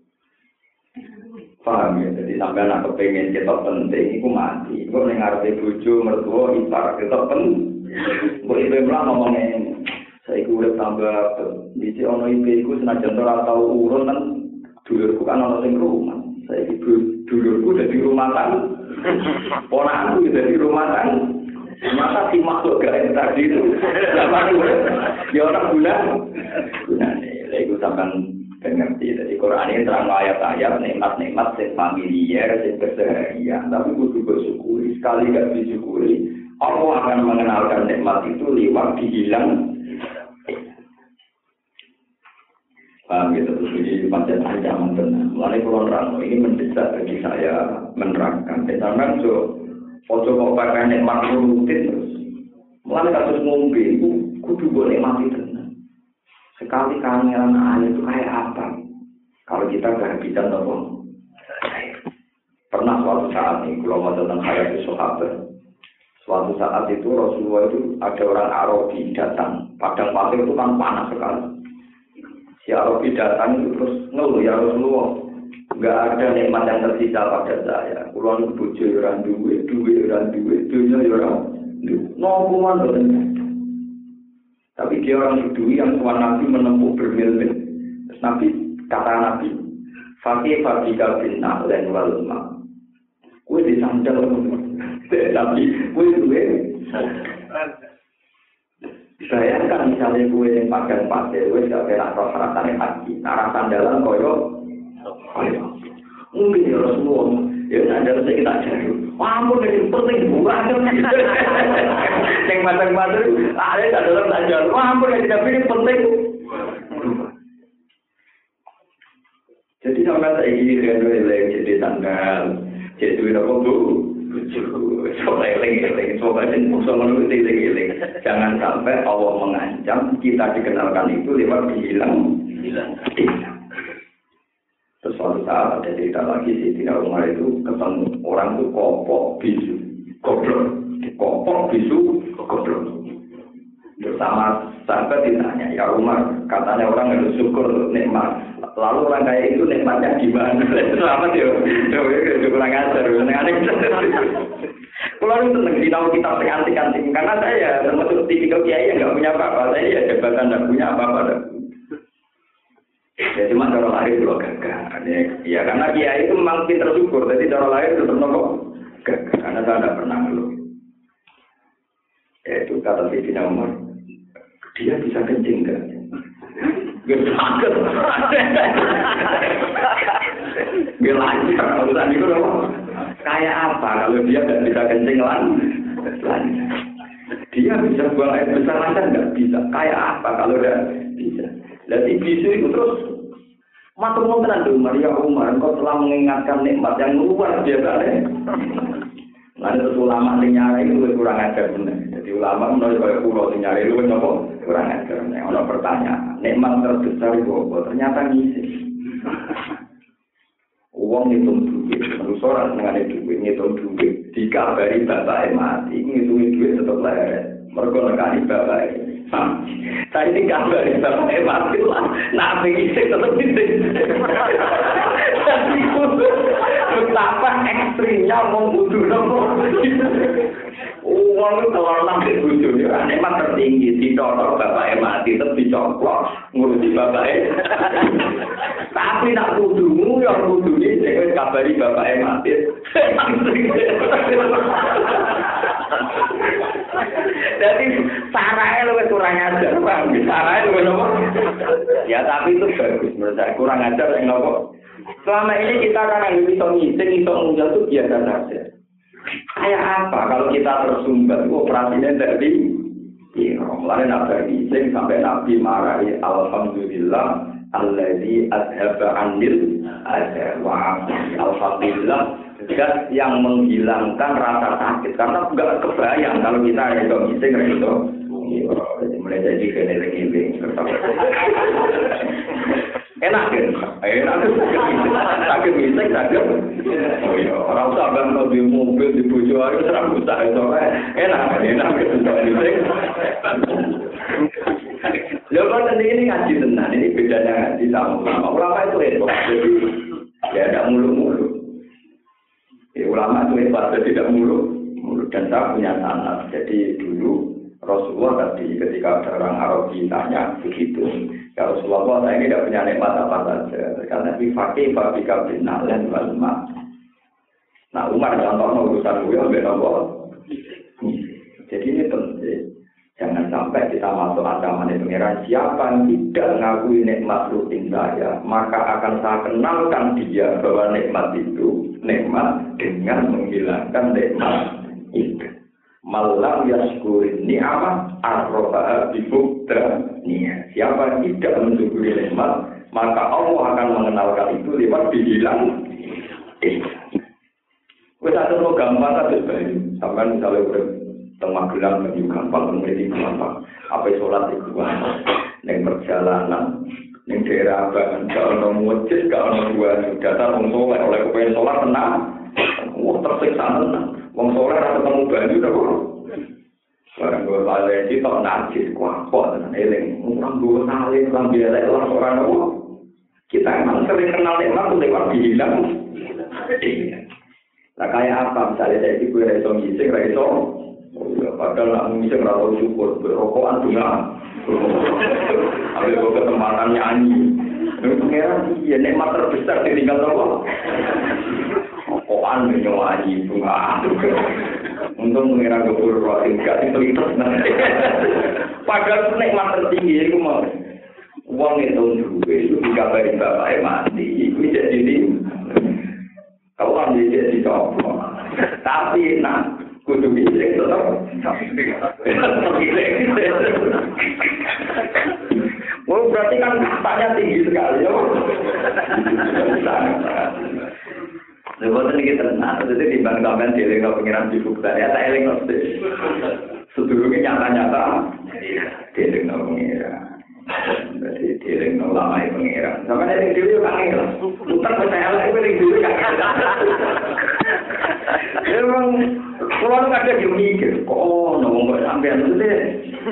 Paham ya? Jadi sampai anak kepengen kita penting, itu mati. Kalau ngerti buju, mertua, ipar, kita penting. Kalau ibu bilang ngomongin, saya udah tambah, di sini ono ibu itu senajan orang tahu urun kan, dulurku kan ono sing rumah. Saya ibu dulurku udah di rumah kan, ponakku udah di rumah kan. Masa si makhluk gaib tadi itu, apa itu? Ya orang guna, guna nih. Itu sampai ngerti. Jadi Quran ini terang ayat-ayat nikmat-nikmat yang familiar, yang keseharian. Tapi kudu bersyukuri. Sekali gak disyukuri, Allah akan mengenalkan nikmat itu lewat dihilang. Paham gitu, terus ini macam ancaman benar. Mulai Kulon Ramo ini mendesak bagi saya menerangkan. Misalkan so, foto kok pakai nikmat rutin terus. Mulai kasus ngombe itu kudu boleh mati benar. Sekali kangelan air itu kayak apa? Kalau kita kehabisan atau pernah suatu saat nih, kalau mau tentang hayat sahabat. Suatu saat itu Rasulullah itu ada orang Arabi datang. Padang pasir itu kan panas sekali. Si Arabi datang itu terus ngeluh, ya Rasulullah, nggak ada nikmat yang tersisa pada saya. Kulon bojo orang duwe, duwe orang duwe, duwe orang duwe. Nopo mana? Tapi dia orang Yahudi yang Tuhan Nabi menempuh bermil-mil. Terus Nabi, kata Nabi, Fakih Fakika bin Na'len walma. Kue disandal, tapi kue duwe. Bayangkan misalnya kue yang pakai pasir, kue gak kena roh rasanya haji. Arah sandalan koyo, mungkin ya Rasulullah. Ya sandal saya kita cari. Wah, ampun ini penting bukan. Yang macam-macam, ada sandalan tak jual. Wah, ampun ini tapi ini penting. Jadi sampai saya ini dengan leleng jadi sandal, jadi duit apa bu? Soalnya leleng-leleng, soalnya soalnya leleng-leleng. Jangan sampai Allah mengancam kita dikenalkan itu lewat hilang, hilang, hilang. Terus suatu saat ada cerita lagi sih, tidak Umar itu ketemu orang itu kopok bisu, goblok, kopok bisu, goblok. Bersama sahabat ditanya, ya Umar, katanya orang harus syukur nikmat. Lalu orang kayak itu nikmatnya gimana? Selamat ya, ya kurang ajar, aneh. Kalau itu senang di tahu kitab antik-antik, karena saya termasuk tipikal kiai yang nggak punya apa-apa, saya ya jabatan nggak punya apa-apa. Ya cuma cara lahir itu loh gagah. Ya karena kiai itu memang pintar syukur, jadi cara lahir tetap nopo gagah. Karena saya tidak pernah ngeluh. Ya itu kata Sayyidina Umar, dia bisa kencing kan? Gak sakit. Gak lancar. Urusan itu loh. Kayak apa kalau dia tidak bisa kencing lancar? Dia bisa buang air besar lancar nggak bisa. Kayak apa kalau tidak bisa? Jadi bisu itu terus Matur nuwun tenan lho Maria Umar, engkau telah mengingatkan nikmat yang luar biasa. Lan terus ulama sing nyari itu kurang ajar bener. Jadi ulama menurut kaya kula sing nyari itu napa kurang ajar. Nek ana pertanyaan, nikmat terbesar itu apa? Ternyata ngisi. Uang ngitung duit, manusia orang senengane duit, ngitung duit. Dikabari bapaknya mati, ngitung duit tetap leret. Mereka nekani bapaknya. Saya ini kabari bapaknya mati lah. Nabi isik tetap isik. Jadi betapa ekstrimnya mau butuh nopo. Uang itu kalau nanti butuh, nikmat tertinggi. Dicocok bapaknya mati, tetap dicoplok. Ngurusi bapaknya. Tapi nak kudumu, yang kudu ini, saya kabari bapaknya mati. Jadi, sarahnya lebih kurang ajar, Bang. Sarahnya lebih nopo. Ya, tapi itu bagus menurut saya. Kurang ajar, yang nopo. Selama ini kita kan bisa ngising, bisa mengunjau itu biasa saja. Kayak apa kalau kita tersumbat, operasinya dari iya, mulai nabi ngising sampai Nabi marahi alhamdulillah alladzi adhaba anil adha wa alhamdulillah zat yang menghilangkan rasa sakit karena enggak kebayang kalau kita itu ngising itu mulai jadi keneling-eling enak kan? Enak kan? Sakit misek, sakit. Oh iya, orang sabar kalau di mobil, di bujo, itu serang usah. Enak kan? Enak kan? Misek. Lalu kan ini ngaji tenang, ini bedanya ngaji sama ulama. Ulama itu hebat, jadi ya tidak mulu-mulu. Ya, ulama itu hebat, jadi tidak mulu-mulu. Dan saya punya sanad, jadi dulu Rasulullah tadi ketika ada orang Arabi tanya begitu, ya Rasulullah saya ini tidak punya nikmat apa saja, karena di fakih fabika bin nalen walma. Nah Umar contohnya urusan gue ambil nombor. Jadi ini penting, jangan sampai kita masuk ancaman pengiran siapa yang tidak mengakui nikmat rutin saya, maka akan saya kenalkan dia bahwa nikmat itu nikmat dengan menghilangkan nikmat itu. Malam yaskurin ni'amah arroba'a bibukta ni'ah. Siapa yang tidak mensyukuri nikmat, maka Allah akan mengenalkan itu lewat dihilang. Eh, kita ada gampang kan sebenarnya. Sampai misalnya udah tengah gelang lebih gampang, menjadi gampang. Apa sholat itu gampang. Neng perjalanan, neng daerah abang, kalau ada masjid, kalau ada dua data mengsoleh oleh kepengen sholat tenang. Wah tersiksa tenang. Wong soleh ora ketemu banyu ta kok. Barang gue balik iki tok najis kuat tenan eling. Urang gue nalih lambe elek lah ora ono. Kita emang sering kenal nikmat lewat dihilang. Nah kayak apa misalnya saya itu gue iso ngising ra iso. Padahal nak ngising ra tau syukur berokokan juga. Ambil gue kesempatan nyanyi. Pengeran iya nikmat terbesar ditinggal tau. Koan menyoani bunga. Untung mengira gubur roh tingkat itu itu. Padahal nikmat tertinggi itu mau. Uang itu duit itu dikabari bapaknya mati. Itu jadi ini. Kau kan jadi coba. Tapi nak kudu bisa tetap. Oh berarti kan katanya tinggi sekali. Lepas ini kita tenang, jadi timbang sampean dieling no pengiran sibuk tadi, tak eling no sedulurnya nyata-nyata, dieling no pengiran, jadi dieling no lama pengiran. Sampai eling dulu kan eling, putar percaya lah eling dulu kan. Emang kalau kadang dia mikir, oh nongol sampean itu deh.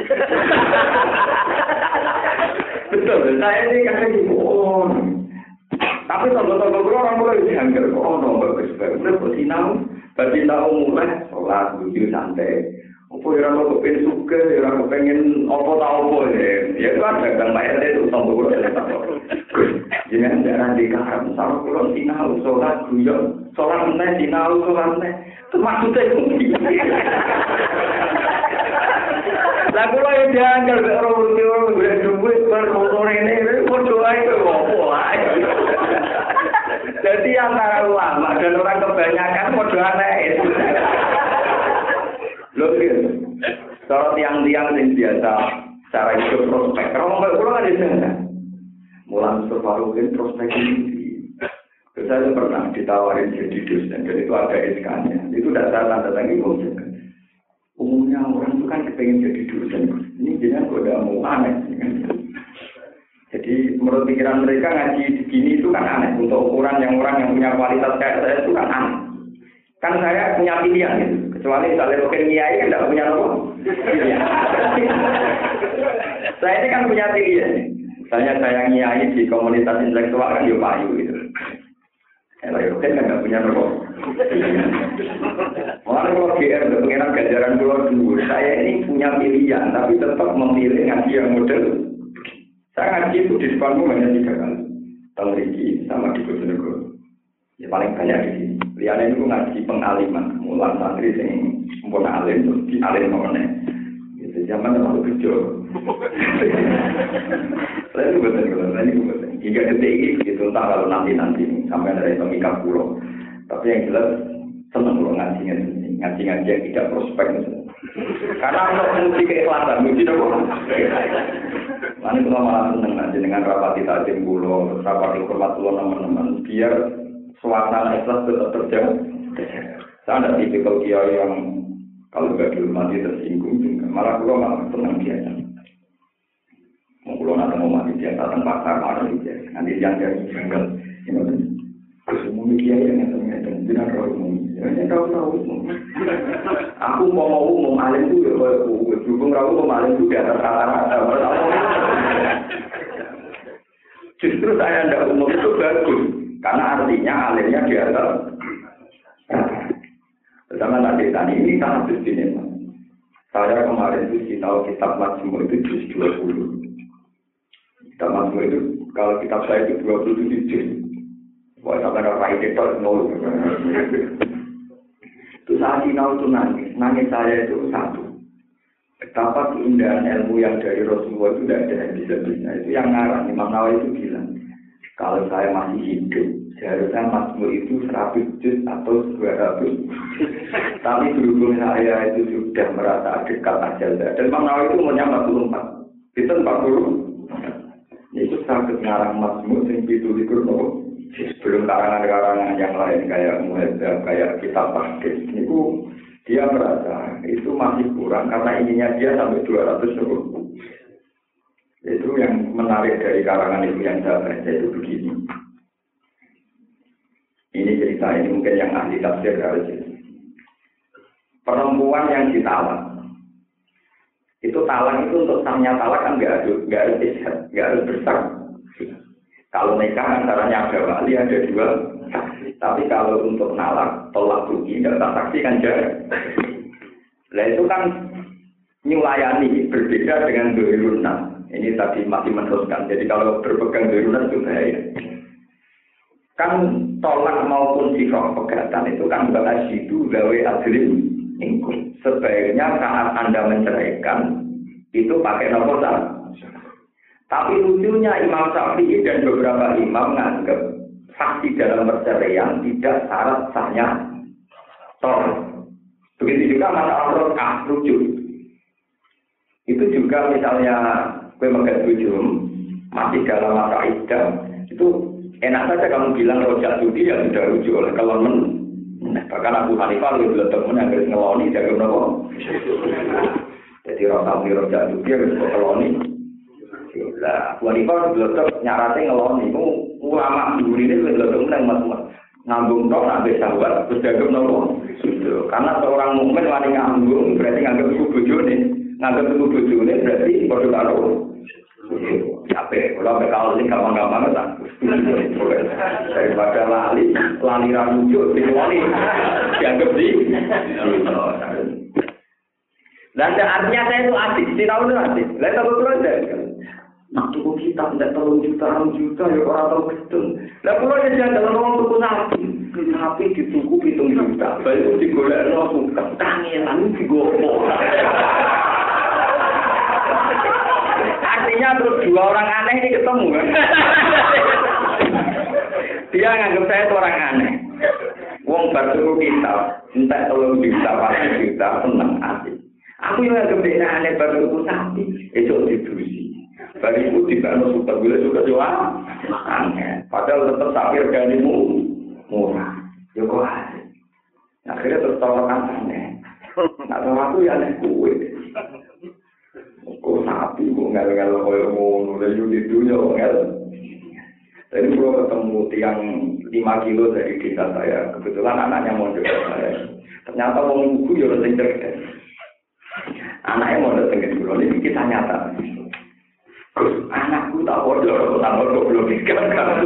Betul, saya ini kadang gitu, oh. Tapi tonggo-tonggo orang mulai dianggar kok ono bagus bagus bersinau, bersinau mulai sholat wudhu santai. Opo ora ono kepen suka, ora kepengen opo ta opo ya. Ya kan dagang bayar itu tonggo kulo. Jangan jangan dikaram sama kulo sinau sholat guyon, sholat meneh sinau sholat meneh. Maksudnya itu. Lah kulo ya dianggar ora mesti ora golek duit bar motor ini padha ae opo ae. Jadi antara ulama dan orang kebanyakan modal aneh. Loh, kalau tiang-tiang yang biasa cara hidup prospek, kalau nggak pulang ada sana. Mulan Mustafa-Rukin prospek ini. Saya pernah ditawarin jadi dosen, dan itu ada S K-nya. Itu tidak saya tanda tangi ngomong. Umumnya orang itu kan kepengen jadi dosen. Ini jenis udah mau aneh. Jadi menurut pikiran mereka ngaji begini itu kan aneh. Untuk ukuran yang orang yang punya kualitas kayak saya itu kan aneh. Kan saya punya pilihan gitu. Kecuali misalnya mungkin kiai kan tidak punya apa. Saya ini kan punya pilihan. Misalnya saya kiai di komunitas intelektual kan ya payu gitu. Kalau mungkin kan tidak punya apa. Orang kalau G R pengiran ganjaran pulau dulu. Saya ini punya pilihan, tapi tetap memilih ngaji yang model. Saya ngaji itu di depanmu hanya tiga kali. Tahun Riki sama di Bojonegoro. Ya paling banyak di sini. Lihatnya itu ngaji pengaliman, mulan santri yang sempurna alim terus di alim mana? Itu zaman terlalu kecil. Saya itu betul betul, saya itu betul. Hingga detik ini itu entah kalau nanti nanti sampai dari pemikat pulau. Tapi yang jelas senang pulau ngaji ngaji ngaji ngaji yang tidak prospek. Karena untuk menguji keikhlasan, menguji apa? Nanti kalau malah senang ngaji dengan rapati tajam pulau, rapati hormat pulau teman-teman, biar suasana ikhlas tetap terjaga. Saya ada tipikal kiai yang kalau nggak dihormati tersinggung juga. Malah pulau malah senang biasa. Mau pulau nanti mau mati biasa tanpa pasar malah biasa. Nanti yang jadi janggal, ini semua kiai yang ngeteng-ngeteng, tidak tahu umum. Ya tahu tahu umum. Aku mau mau umum alim itu ya kalau berhubung rawu umum alim itu di atas rata-rata. Justru saya tidak umum itu bagus. Karena artinya alimnya di atas. Bersama tadi tadi ini sangat istimewa. Saya kemarin itu sinau kitab Majmu' itu juz dua puluh. Kitab Majmu' itu kalau kitab saya itu dua puluh tujuh juz. Wah, sampai ada raih itu nol. Itu saat sinau itu nangis. Nangis saya itu satu. Betapa keindahan ilmu yang dari Rasulullah itu tidak ada habis-habisnya. Itu yang ngarang Imam Nawawi itu bilang. Kalau saya masih hidup, seharusnya Majmu' itu seratus juz atau dua ratus. Tapi berhubung saya itu sudah merasa dekat ajal. Dan Imam Nawawi itu umurnya empat puluh empat. Itu empat puluh. Itu sangat ngarang Majmu' yang ditulis nopo. Sebelum karangan-karangan yang lain kayak Muhadzab, kayak kitab Tahdid. Itu dia merasa itu masih kurang karena ininya dia sampai dua ratus nopo. Itu yang menarik dari karangan itu yang saya baca itu begini. Ini cerita ini mungkin yang ahli tafsir harus ini. Perempuan yang ditalak. Itu talak itu untuk sahnya talak kan nggak ada, nggak harus isyarat, nggak harus bersaksi. Kalau nikah antaranya ada wali ada dua saksi. Tapi kalau untuk nalak tolak rugi tidak saksi kan jarak. Nah itu kan nyulayani berbeda dengan dohirunah. Ini tadi masih meneruskan. Jadi kalau berpegang dohirunah itu bahaya. Kan tolak maupun sifat pegatan itu kan berasidu gawe adlim ingkun. Sebaiknya saat Anda menceraikan itu pakai nomor satu. Tapi lucunya Imam Syafi'i dan beberapa imam menganggap saksi dalam perceraian tidak syarat sahnya tolak. Begitu juga masalah rokah rujuk. Itu juga misalnya gue megat bujum masih dalam masa iddah itu enak saja kamu bilang rojak judi ya sudah rujuk oleh kelon. Nah, bahkan Abu Hanifah lebih beletok pun yang harus ngeloni jaga nopo. Jadi rokah beli rojak judi harus keloni. Lah, Abu Hanifah beletok nyaratnya ngeloni. Itu ulama dulu ini beletok menang mas-mas. Ngambung dong, nabi sahabat, terus jaga nopo. Karena seorang mukmin wani ngambung berarti nganggap itu bujune. Nganggap itu bujune berarti bodoh karo. Capek, kalau kalau ini gampang-gampang kan. Daripada lali, lali ramujuk, dikeluari, dianggap di. Dan artinya saya itu asik, si tahu itu asik. Lain tahu itu aja. Nah, tuku kita tidak terlalu juta, juta ya orang tahu betul. Lah kalau dia jangan dalam orang tuku sapi, sapi dituku hitung juta, baru digolek langsung ketangian digopok. Artinya terus dua orang aneh ini ketemu kan? Dia nganggap saya itu orang aneh. Wong baru kita, entah tolong juta, pasti juta, senang asik. Aku yang nganggap dia aneh baru sapi, itu didusi. Bagi itu tidak ada suka gula suka jual. Aneh. Padahal tetap sakit ganimu murah. Ya kok aneh. Akhirnya terus tawarkan aneh. Nah, sama aku ya aneh kue. Kok sapi, kok ngel-ngel kaya ngono. Lalu di dunia ngel. Tadi kalau ketemu tiang lima kilo dari desa saya, kebetulan anaknya mondok saya. Ternyata wong ibu ya orang cerdas. Anaknya mondok tengah dulu, ini kita nyata. Terus anakku tak bodoh, tak bodoh belum dikatakan.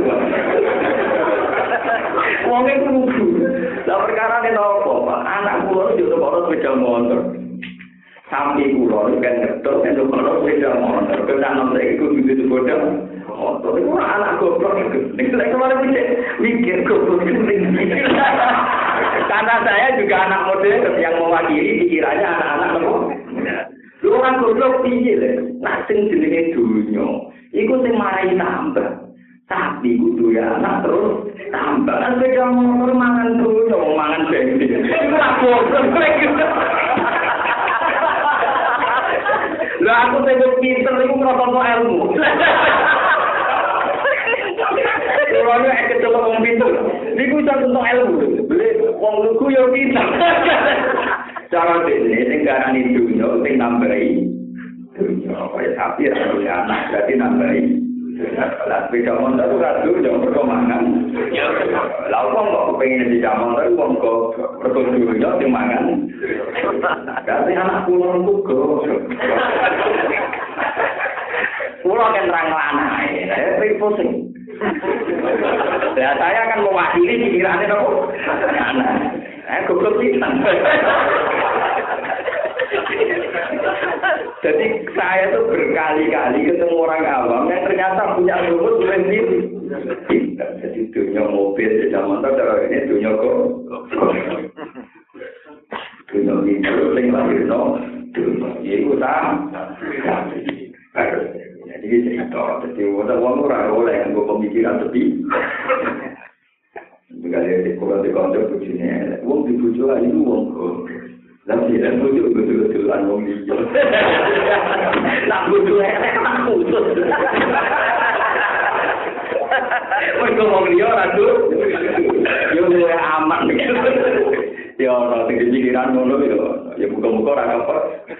Wong ibu lugu. Lah perkara ini nopo, Pak. Anakku itu juga baru sepeda motor. Sampai pulau kan ngetok, kan baru sepeda motor. Kita nanti ikut begitu bodoh. Oh, itu anak goblok itu. Saya kemarin mikir, mikir goblok itu. Karena saya juga anak modern yang mewakili pikirannya anak-anak nopo. Lu orang goblok piye lho. Nak sing jenenge dunya, iku sing marai tambah. Tapi kudu ya anak terus tambah. Kan beda motor mangan dunya, mangan bensin. Iku lah goblok. Lah aku sing pinter iku protokol ilmu. Orangnya ekor celok wong pinter. Niku iso tentang ilmu. Beli wong lugu yo pinter. Cara dene sing garani dunya sing nambahi dunya kaya sapi ra anak berarti nambahi. Lah sepeda motor ora dunya mergo mangan. Lah wong kok pengen di motor wong kok mergo dunya sing mangan. Berarti anak kula lugu. Kula kan terang lanang, saya pusing. Ya saya akan mewakili pikirannya nopo. Anak, eh goblok pisan. Jadi saya tuh berkali-kali ketemu orang awam yang ternyata punya rumus sendiri. Jadi dunia mobil, sepeda motor, ini dunia kok. Dunia itu yang lahir no, dunia itu sama. Jadi cerita, jadi orang orang oleh yang gue pemikiran lebih. Juga dari kalau di kantor begini, uang dibujuk aja itu uang kok. Tapi dan bujuk betul-betulan uang dibujuk. Nak bujuk elek tak khusus. Mereka mau dia ratu, dia mulai aman. Ya orang tinggi pikiran ngono itu, ya buka-buka orang apa.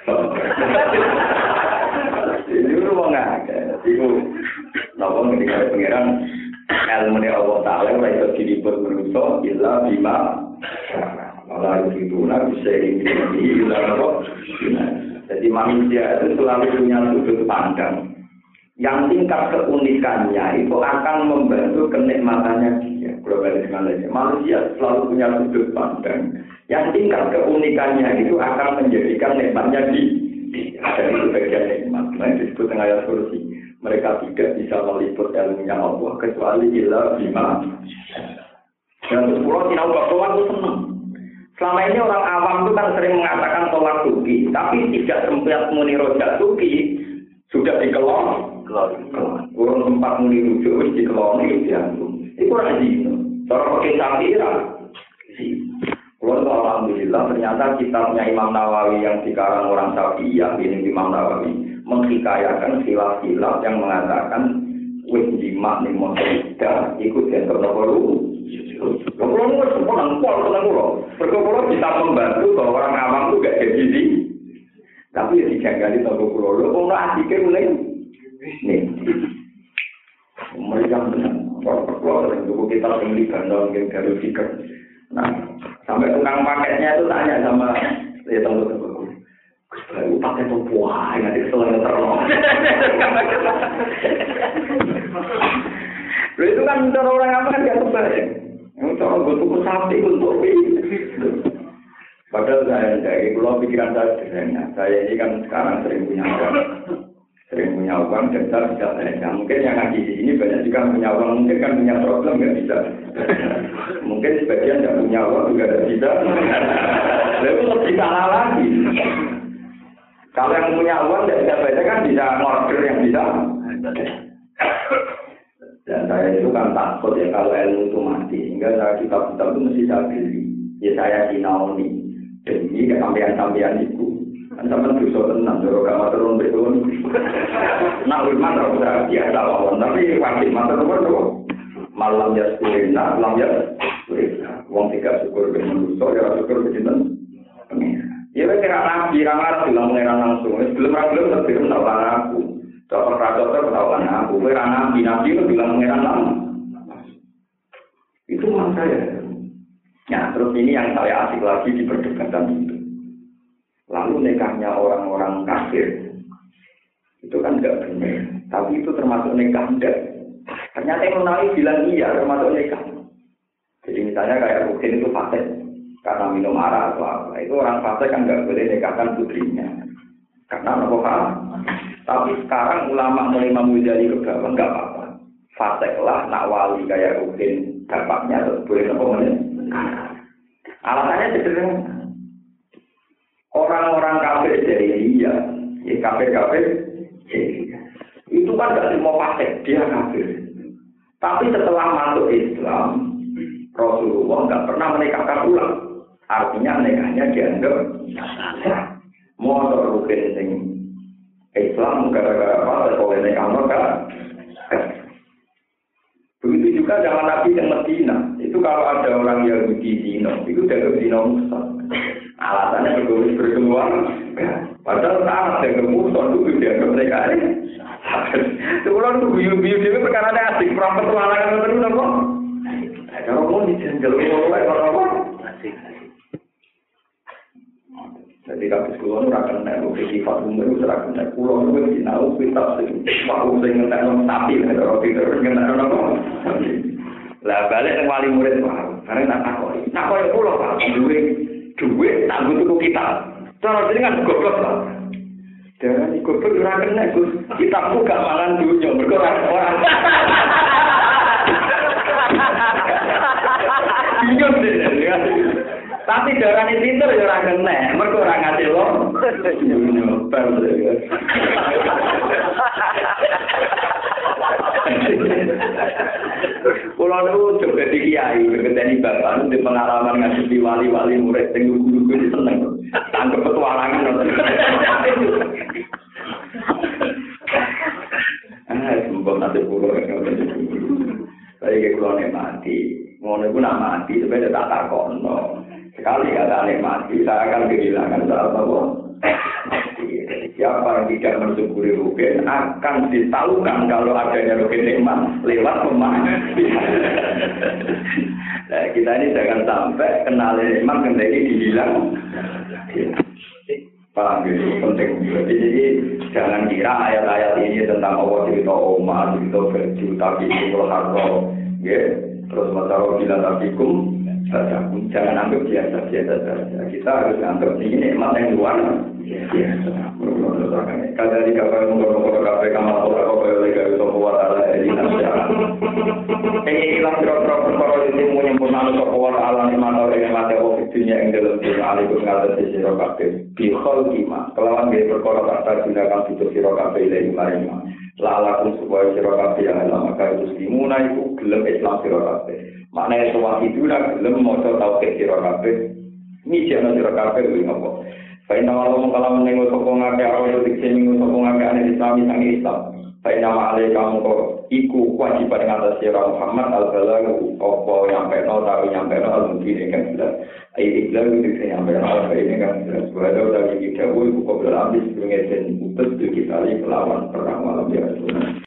Itu mau nggak? Itu, nopo ketika pengiran ilmu dari Allah Taala mulai terjadi berusaha illa bima. Kalau itu nak bisa ini illa apa? Jadi manusia itu selalu punya sudut pandang. Yang tingkat keunikannya itu akan membantu kenikmatannya dia. Globalisasi manusia selalu punya sudut pandang. Yang tingkat keunikannya itu akan menjadikan nikmatnya di dan itu bagian nikmat. Nah, disebut dengan ayat kursi. Mereka tidak bisa meliput ilmunya Allah kecuali illa bima. Dan sepuluh tinau bahwa itu senang. Selama ini orang awam itu kan sering mengatakan tolak suki, tapi tidak sempat muni rojak suki sudah dikelon. Kurang tempat muni rujuk wis dikeloni diantum. Itu ora dino. Cara pakai samira. Kalau alhamdulillah ternyata kitabnya Imam Nawawi yang dikarang orang Syafi'iyah ini Imam Nawawi menghikayakan khilaf-khilaf yang mengatakan wis jima ning motor ikut yang terlalu. Kalau mau sepulang pol tenang lo, perkara bisa membantu bahwa orang awam itu gak jadi di. Tapi ya dijagali toko pulau lo, kalau asiknya mulai nih. Mereka benar, perkara yang dulu kita tinggi gandong yang garis fikir. Nah, sampai tukang paketnya itu tanya sama ya tunggu-tunggu. Gus pakai topo aja nanti selalu terlalu. Lalu itu kan cara orang apa kan gak kebayang. Yang cara gue tuku sapi untuk ini. Padahal saya dari pulau pikiran saya sederhana. Saya ini kan sekarang sering punya uang, sering punya uang dan saya bisa belanja. Mungkin yang ngaji di sini banyak juga punya uang, mungkin kan punya problem nggak bisa. Mungkin sebagian nggak punya uang juga nggak bisa. Lalu lebih salah lagi. Kalau yang punya uang nggak bisa baca kan bisa order yang bisa. Dan saya itu kan takut ya kalau ilmu itu mati, sehingga saya kitab-kitab itu mesti saya beli. Ya saya sinaoni demi kesampean-sampean itu. Kan sampai dosa tenang, kalau gak mau turun betul. Nah Alul man ora usah biasa wong, tapi wajib matur nuwun. Malam ya syukurna, malam ya syukurna. Wong tiga syukur ben manusa ya syukur ben pengen. Ya wis ora nabi, ora marah bilang pengen langsung. Wis belum ra belum tapi ora aku. Dokter dokter ora aku. Kowe ora nabi, nabi itu bilang pengen langsung. Itu maksud saya. Nah, terus ini yang saya asik lagi di perdebatan itu. Lalu nikahnya orang-orang kafir itu kan enggak benar, tapi itu termasuk nikah enggak. Ternyata yang Nabi bilang iya termasuk nikah. Jadi misalnya kayak Rukin itu fasik karena minum arak atau apa, itu orang fasik kan enggak boleh nikahkan putrinya karena apa pak? Tapi sekarang ulama mulai memuji ke bawah enggak apa-apa. Fasik lah nak wali kayak Rukin dapatnya terus boleh apa mana? Alasannya sederhana. Orang-orang kafir dari iya, ya kafir-kafir. Itu kan gak semua fasik, dia kafir. Tapi setelah masuk Islam, Rasulullah gak pernah menikahkan ulang. Artinya nikahnya dianggap sah. Motor rukin sing Islam gara-gara apa? Boleh nikah mereka. Begitu juga zaman Nabi yang Medina. Itu kalau ada orang Yahudi zina, itu dianggap zina musa. Alasannya bergabung berkeluar. Padahal tak ada kemudian itu dianggap mereka ini. Sebulan itu biu-biu dia perkara asik, perang petualangan terus apa? Kalau mau dijanjel mulai apa? Asik. Jadi kalau sekolah itu akan naik ke sifat umur itu akan naik pulau itu dinau kita sih. Waktu saya ngetek non sapi, kalau kita ngetek non apa? Lah balik yang wali murid baru, karena nak takoi, takoi pulau pak, duit, duit tak butuh kita. Cara jadi kan goblok pak. Jangan ikut bergerak kena Gus. Kita buka makan dunia bergerak orang. Bingung deh. Tapi darah ini pinter ya orang kena. Mereka orang ngasih loh. Nyobar deh. Kalau itu coba di kiai, berketani bapak, di pengalaman ngasih wali-wali murid, tengok guru-guru itu seneng. Tangkap petualangan. Ah, semoga nanti pulau yang nanti pulau. Tapi kalau pulau nih mati, mau nih pun mati, sebenarnya tak takon. Sekali kata nih mati, saya akan kehilangan salah satu. Siapa yang tidak mensyukuri rugen akan disalurkan kalau adanya rugen nikmat lewat pemain. Nah, kita ini jangan sampai kenal nikmat kendali dihilang. Paham gitu, penting. Jadi jangan kira ayat-ayat ini tentang Allah cerita Omar, cerita baju, tapi itu harta, ya. Terus masalah bila tabikum, jangan anggap biasa-biasa saja. Kita harus anggap ini nikmat yang luar biasa. Kalau di kapal mengurung-urung kafe kamar orang apa yang lagi itu buat ala ini nasihat. Ini hilang berapa perkara itu menyempurnakan kekuatan alam di mana orang yang mati ofisinya yang dalam dunia alikum ngatas di siro kafe. Bihol kima. Kelawan dia perkara kata gunakan fitur siro kafe ilahi marima. Lalakum supaya siro kafe yang lama kaya itu dimuna itu gelem Islam siro kafe. Maknanya semua itu lah gelem mau tahu ke siro kafe. Ini jangan siro kafe lebih ngapa. Faina walau kalau menengok sokong agak awal detik seminggu sokong agak aneh Islami sang Islam. Faina ma'alai kamu kok iku kewajiban atas sirah Muhammad al-Balag opo nyampe no tahu nyampe no al-Mungkin kan jelas. Ayat Islam itu bisa nyampe no al-Mungkin kan jelas. Walau dari kita iku kok berlambis sebelumnya dan putus di kita lawan perang malam biasa.